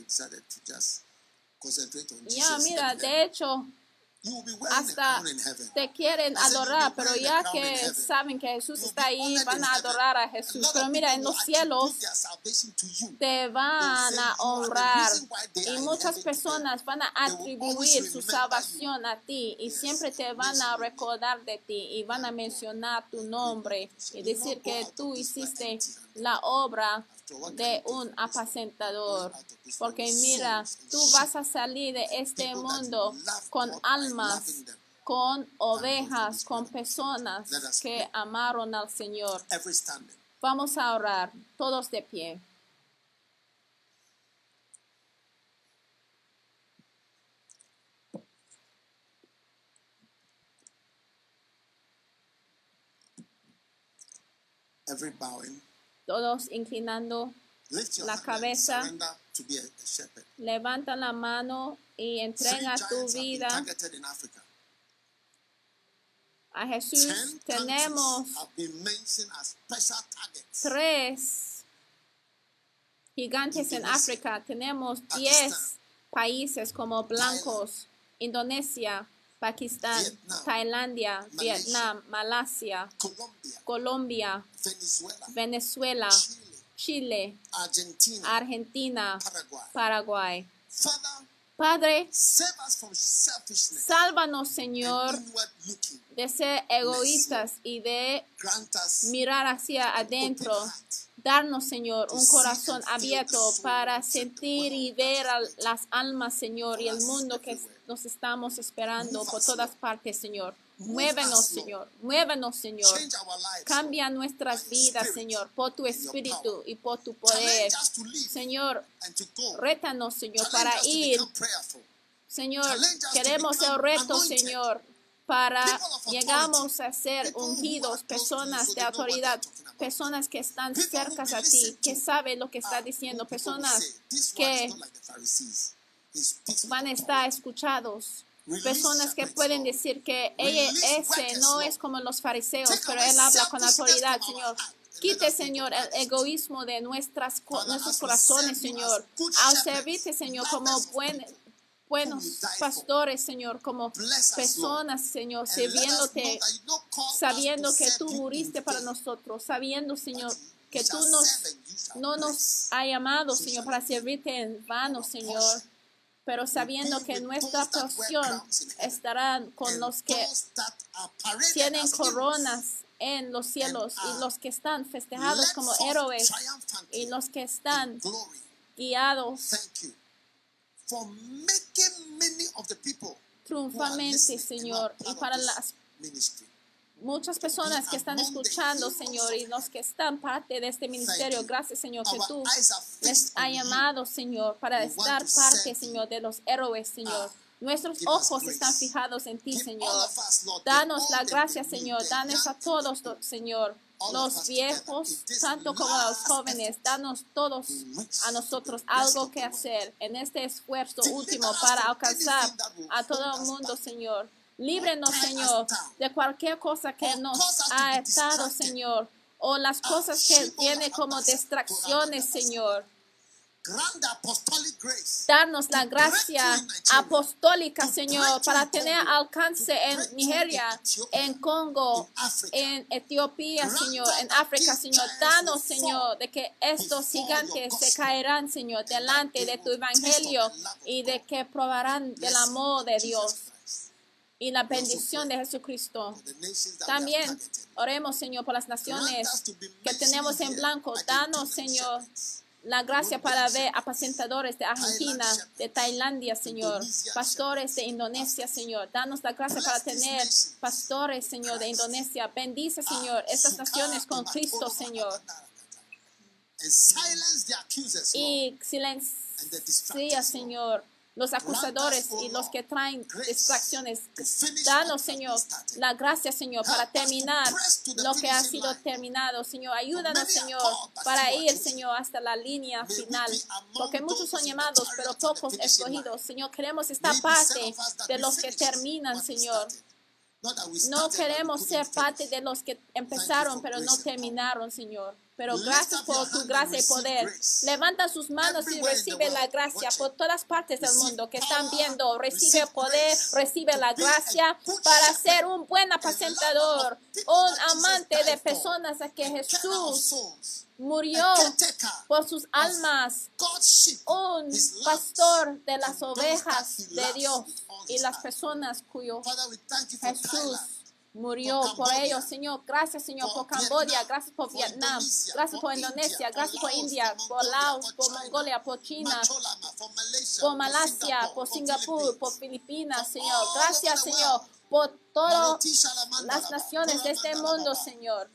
Ya, mira, de hecho, hasta te quieren adorar, pero ya que saben que Jesús está ahí, van a adorar a Jesús. Pero mira, en los cielos te van a honrar y muchas personas van a atribuir su salvación a ti y siempre te van a recordar de ti y van a mencionar tu nombre y decir que tú hiciste la obra de un apacentador, porque mira, tú vas a salir de este mundo con almas, con ovejas, con personas que amaron al Señor. Vamos a orar, todos de pie. Every bowing. Todos inclinando la cabeza, levanta la mano y entrega tu vida a Jesús. Tenemos tres gigantes en África. Tenemos diez países como blancos: Indonesia, Pakistán, Tailandia, Vietnam, Malasia, Colombia, Venezuela, Chile, Argentina, Paraguay. Padre, sálvanos, Señor, de ser egoístas y de mirar hacia adentro. Darnos, Señor, un corazón abierto para sentir y ver a las almas, Señor, y el mundo que nos estamos esperando por todas partes, Señor. Muévenos, Señor. Muévenos, Señor. Cambia nuestras vidas, Señor, por tu espíritu y por tu poder. Señor, rétanos, Señor, para ir. Señor, queremos el reto, Señor, para llegamos a ser ungidos, personas de autoridad, personas que están cerca a ti, que saben lo que está diciendo, personas que van a estar escuchados. Personas que pueden decir que ella, ese no es como los fariseos, pero él habla con autoridad, Señor. Quite, Señor, el egoísmo de nuestras, nuestros corazones, Señor. Al servirte, Señor, como buen, buenos pastores, Señor, como personas, Señor, sirviéndote, sabiendo que tú muriste para nosotros, sabiendo, Señor, que tú nos, no nos has llamado, Señor, para servirte en vano, Señor. Pero sabiendo que nuestra porción estará con los que tienen coronas en los cielos y los que están festejados como héroes y los que están guiados triunfalmente, Señor, y para las muchas personas que están escuchando, Señor, y los que están parte de este ministerio. Gracias, Señor, que tú les has llamado, Señor, para estar parte, Señor, de los héroes, Señor. Nuestros ojos están fijados en ti, Señor. Danos la gracia, Señor. Danos a todos, Señor, los viejos, tanto como a los jóvenes. Danos todos a nosotros algo que hacer en este esfuerzo último para alcanzar a todo el mundo, Señor. Líbrenos, Señor, de cualquier cosa que nos ha atado, Señor, o las cosas que tiene como distracciones, Señor. Darnos la gracia apostólica, Señor, para tener alcance en Nigeria, en Congo, en Etiopía, Señor, en África, Señor. Danos, Señor, de que estos gigantes se caerán, Señor, delante de tu evangelio y de que probarán del amor de Dios y la bendición de Jesucristo. También oremos, Señor, por las naciones que tenemos en blanco. Danos, Señor, la gracia para ver apacentadores de Argentina, de Tailandia, Señor, pastores de Indonesia, Señor. Danos la gracia para tener pastores, Señor, de Indonesia. Bendice, Señor, estas naciones con Cristo, Señor. Y silencia, Señor, los acusadores y los que traen distracciones. Danos, Señor, la gracia, Señor, para terminar lo que ha sido terminado. Señor, ayúdanos, Señor, para ir, Señor, hasta la línea final. Porque muchos son llamados, pero pocos escogidos. Señor, queremos estar parte de los que terminan, Señor. No queremos ser parte de los que empezaron, pero no terminaron, Señor. Pero gracias por tu gracia y poder. Levanta sus manos y recibe la gracia por todas partes del mundo que están viendo. Recibe poder, recibe la gracia para ser un buen apacentador, un amante de personas a que Jesús murió por sus almas, un pastor de las ovejas de Dios y las personas cuyo Jesús murió por ellos, Señor. Gracias, Señor, por Camboya, gracias por Vietnam, gracias por Indonesia, gracias por India, por Laos, por Mongolia, por China, por Malasia, por Singapur, por Filipinas, Señor. Gracias, Señor, por todas las naciones de este mundo, Señor.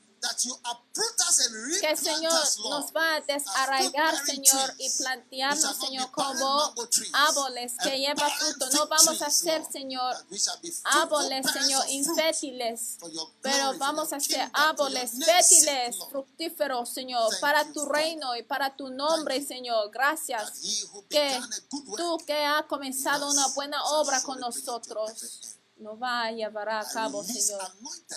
Que el Señor nos va a desarraigar, Señor, y plantearnos, Señor, como árboles que llevan fruto. No vamos a ser, Señor, árboles, Señor, infértiles, pero vamos a ser árboles fértiles, fructíferos, Señor, para tu reino y para tu nombre, Señor. Gracias que tú que has comenzado una buena obra con nosotros nos va a llevar a cabo, Señor.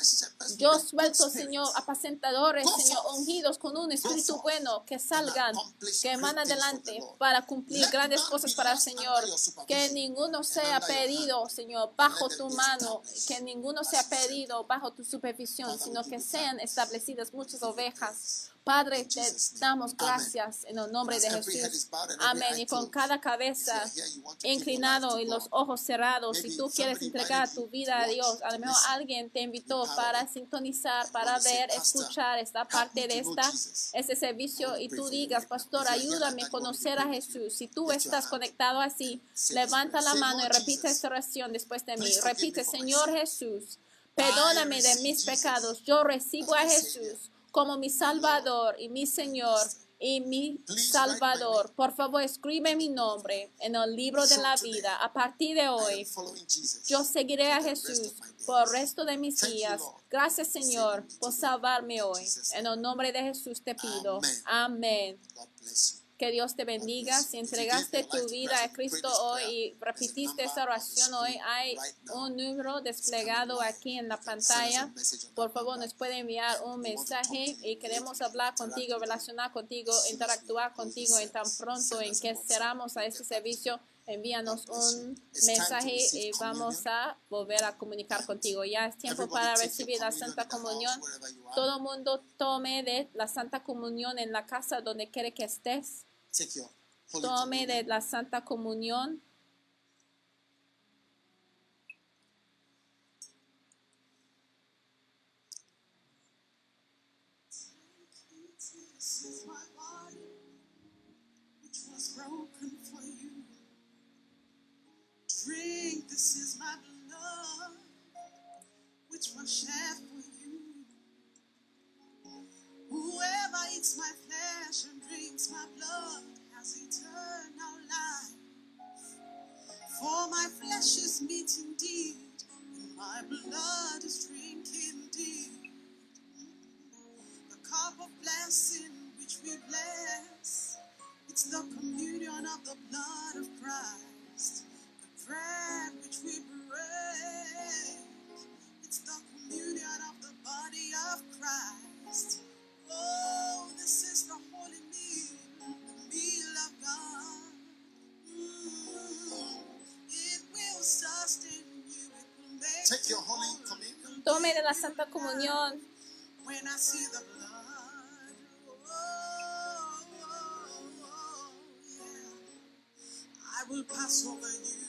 Yo suelto, Señor, apacentadores, Señor, ungidos con un espíritu bueno, que salgan, que van adelante para cumplir grandes cosas para el Señor. Que ninguno sea perdido, Señor, bajo tu mano, que ninguno sea perdido bajo tu supervisión, sino que sean establecidas muchas ovejas. Padre, te damos gracias en el nombre de Jesús. Amén. Y con cada cabeza inclinado y los ojos cerrados, si tú quieres entregar tu vida a Dios, a lo mejor alguien te invitó para sintonizar, para ver, escuchar esta parte de esta, este servicio, y tú digas, pastor, ayúdame a conocer a Jesús. Si tú estás conectado así, levanta la mano y repite esta oración después de mí. Repite, Señor Jesús, perdóname de mis pecados. Yo recibo a Jesús como mi Salvador y mi Señor y mi Salvador. Por favor, escribe mi nombre en el libro de la vida. A partir de hoy, yo seguiré a Jesús por el resto de mis días. Gracias, Señor, por salvarme hoy. En el nombre de Jesús te pido. Amén. Que Dios te bendiga. Si entregaste tu vida a Cristo hoy y repitiste esa oración hoy, hay un número desplegado aquí en la pantalla. Por favor, nos puede enviar un mensaje y queremos hablar contigo, relacionar contigo, interactuar contigo. En tan pronto en que cerramos a este servicio, envíanos un mensaje y vamos a volver a comunicar contigo. Ya es tiempo para recibir la Santa Comunión. Todo el mundo tome de la Santa Comunión en la casa donde quiere que estés. Tome de la Santa Comunión. Drink, this is my blood, which was shed for you. Whoever eats my flesh and drinks my blood has eternal life. For my flesh is meat indeed, and my blood is drink indeed. The cup of blessing which we bless, it's the communion of the blood of Christ. The bread which we break, it's the communion of the body of Christ. Oh, this is the holy meal, the meal of God. Mm, it will sustain you, it will make Take your holy communion. Tome de la Santa Comunión. When I see the blood, oh, oh, oh, yeah, I will pass over you.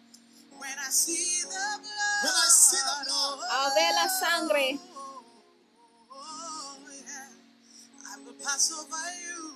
When I see the blood, when I see the blood, Al ver la sangre, pass over you.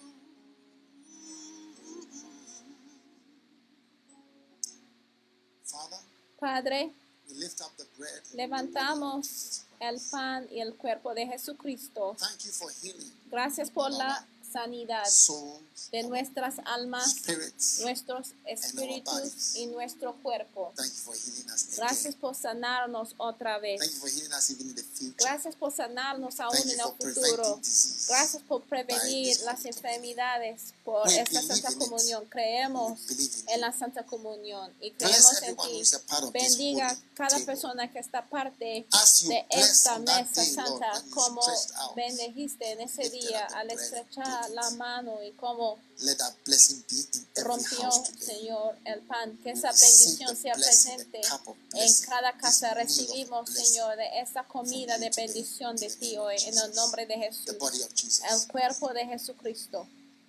Father, Padre, we lift up the bread. levantamos el pan y el cuerpo de Jesucristo. Thank you for healing Gracias por la sanidad souls, de nuestras almas, spirits. nuestros espíritus y nuestro cuerpo. Thank you for healing us again. Gracias por sanarnos otra vez. Thank you for healing us even in the future. Gracias por sanarnos aún Thank you en el for futuro. preventing disease. Gracias por prevenir by this las communion. enfermedades por We esta believe Santa in it. Comunión. Creemos We believe in en it. la Santa Comunión y Bless creemos en everyone ti. who is a part of this Bendiga holy cada table. persona que está parte As you de bless esta on that mesa day, Lord, santa, when you como stretched out, bendijiste en ese lifted día up the al bread, estrechar took it. la mano y como Let that blessing be in every rompió, house today. Señor, el pan. Que esa Receive bendición the sea blessing, the presente cup of en blessing, cada this casa. meal of Recibimos, blessing Señor, de esta comida from de you today, bendición de in the ti name of hoy, en el Jesus. nombre de The Jesús, body of Jesus. el cuerpo de Jesucristo.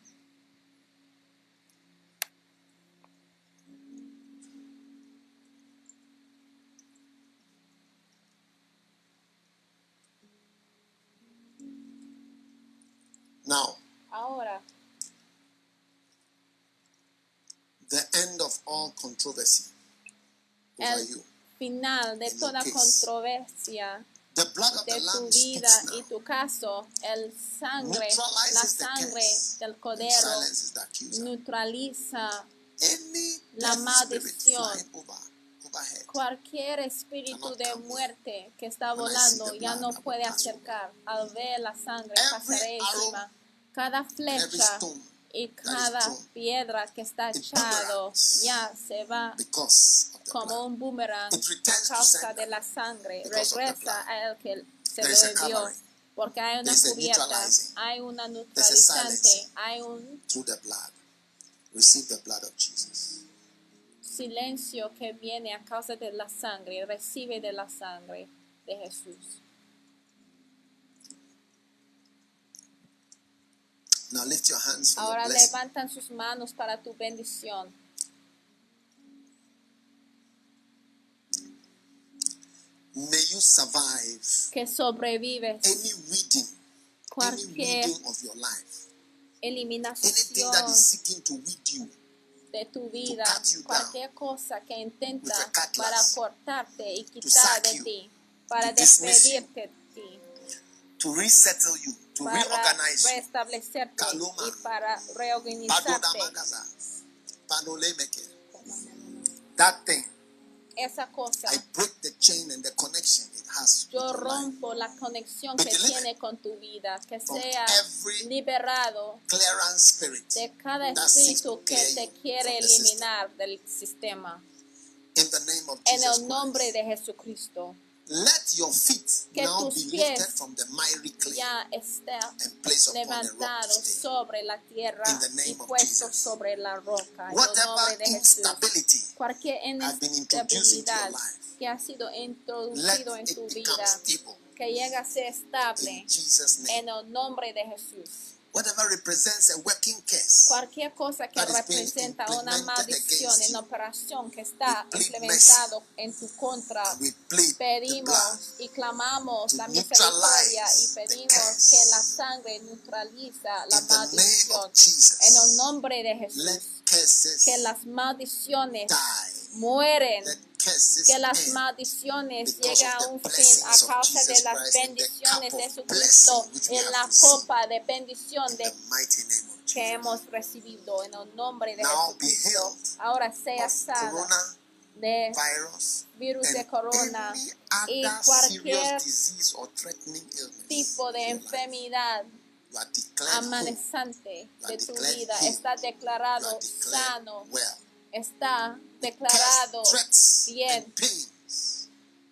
Now, Ahora, the end of all controversy over el you. final de In your toda case. controversia The blood of de the tu Lamb vida speaks y now. tu caso, el sangre, la Neutralizes the sangre curse del and Cordero silences the accuser. neutraliza Any la death spirit maldición. flying over, overhead Cualquier espíritu cannot de come muerte que está When I volando see the ya blood, no I will puede pass acercar. Al ver la sangre Every pasaré arrow encima. Cada and every flecha stone y that is cada thrown, piedra que está it echado boomerangs ya se va because of the como blood. un boomerang It a returns to causa sender de la sangre. because of the Regresa blood. a él que se There lo is a envió. covering. Porque hay una There is a cubierta, neutralizing. hay una There's a neutralizante, silencing. hay un Through the blood. Receive the blood of Jesus. silencio que viene a causa de la sangre. Recibe de la sangre de Jesús. Now lift your hands for your Ahora blessing. levantan sus manos para tu bendición. May you survive Que sobrevives any weeding, any cualquier weeding of your life. Anything eliminación that is seeking to weed you. de tu vida, cut you down cualquier cosa que intenta with a cutlass, para cortarte y quitar sack de you, ti, para to dismiss you, despedirte de ti, to resettle you, to para reorganize you. restablecerte Kaluma. y para reorganizarte. Padodamagaza, Panolemeke. That thing, Esa cosa, I break the chain and the connection it has with yo your life. rompo la conexión Be que delivered tiene con tu vida, que from sea every liberado Clearance spirit de cada that seeks to espíritu que clear te you quiere from the system. eliminar del sistema. In the name of En Jesus el nombre Christ. de Jesucristo, Let your feet Que now tus be pies lifted from the miry clay ya está and placed upon a rock levantado to stay. sobre la tierra In the name y of puesto Jesus. sobre la roca. En el Whatever nombre de Jesús. instability Cualquier has been introduced into your inestabilidad life, que ha sido let introducido en tu it become vida, stable que llega a ser estable in Jesus' name. en el nombre de Jesús. Whatever represents a working curse, Cualquier cosa que that is being representa una implemented maldición against en you, operación que está we plead implementado en tu contra, we plead the blood pedimos y clamamos to la misericordia y neutralize the pedimos curse. que la sangre neutraliza la In the name maldición. of Jesus. En el nombre de Let Jesús, curses que las maldiciones die. mueren, Let curses que las end maldiciones because lleguen of a the un fin blessings a of causa de Jesus las Christ and the bendiciones cup de of Jesucristo blessing which we en have la received. copa de bendición In de the mighty name of que Jesus. hemos recibido en el nombre de Now be Jesucristo. healed Ahora sea of sana corona de virus virus de and corona any y other cualquier serious disease or threatening illness tipo de in your life. enfermedad You are declared whole. amenazante You are de tu declared vida healed. está You declarado are declared sano, well. está Curse, declarado threats, bien. and pains,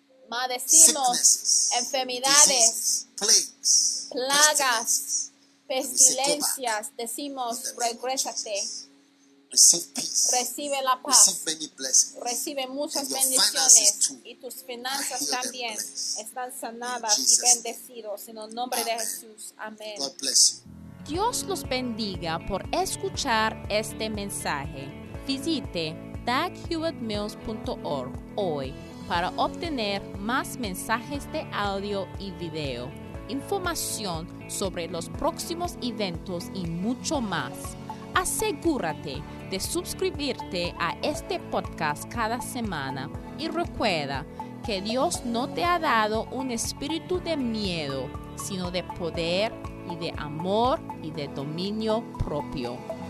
Maldecimos sicknesses, enfermedades, diseases, plagues, plagas, pestilences. pestilencias, decimos In the name of regrésate, Jesus. Receive peace. recibe la paz. Receive many blessings. Recibe muchas And your bendiciones finances too y tus finanzas are healed and también blessed. están sanadas In y Jesus' name. bendecidos en el nombre de Amen. Jesús. Amén. God bless you. Dios los bendiga por escuchar este mensaje. Visite dag hewitt mills punto org hoy para obtener más mensajes de audio y video. información sobre los próximos eventos y mucho más. Asegúrate de suscribirte a este podcast cada semana y recuerda que Dios no te ha dado un espíritu de miedo, sino de poder y de amor y de dominio propio.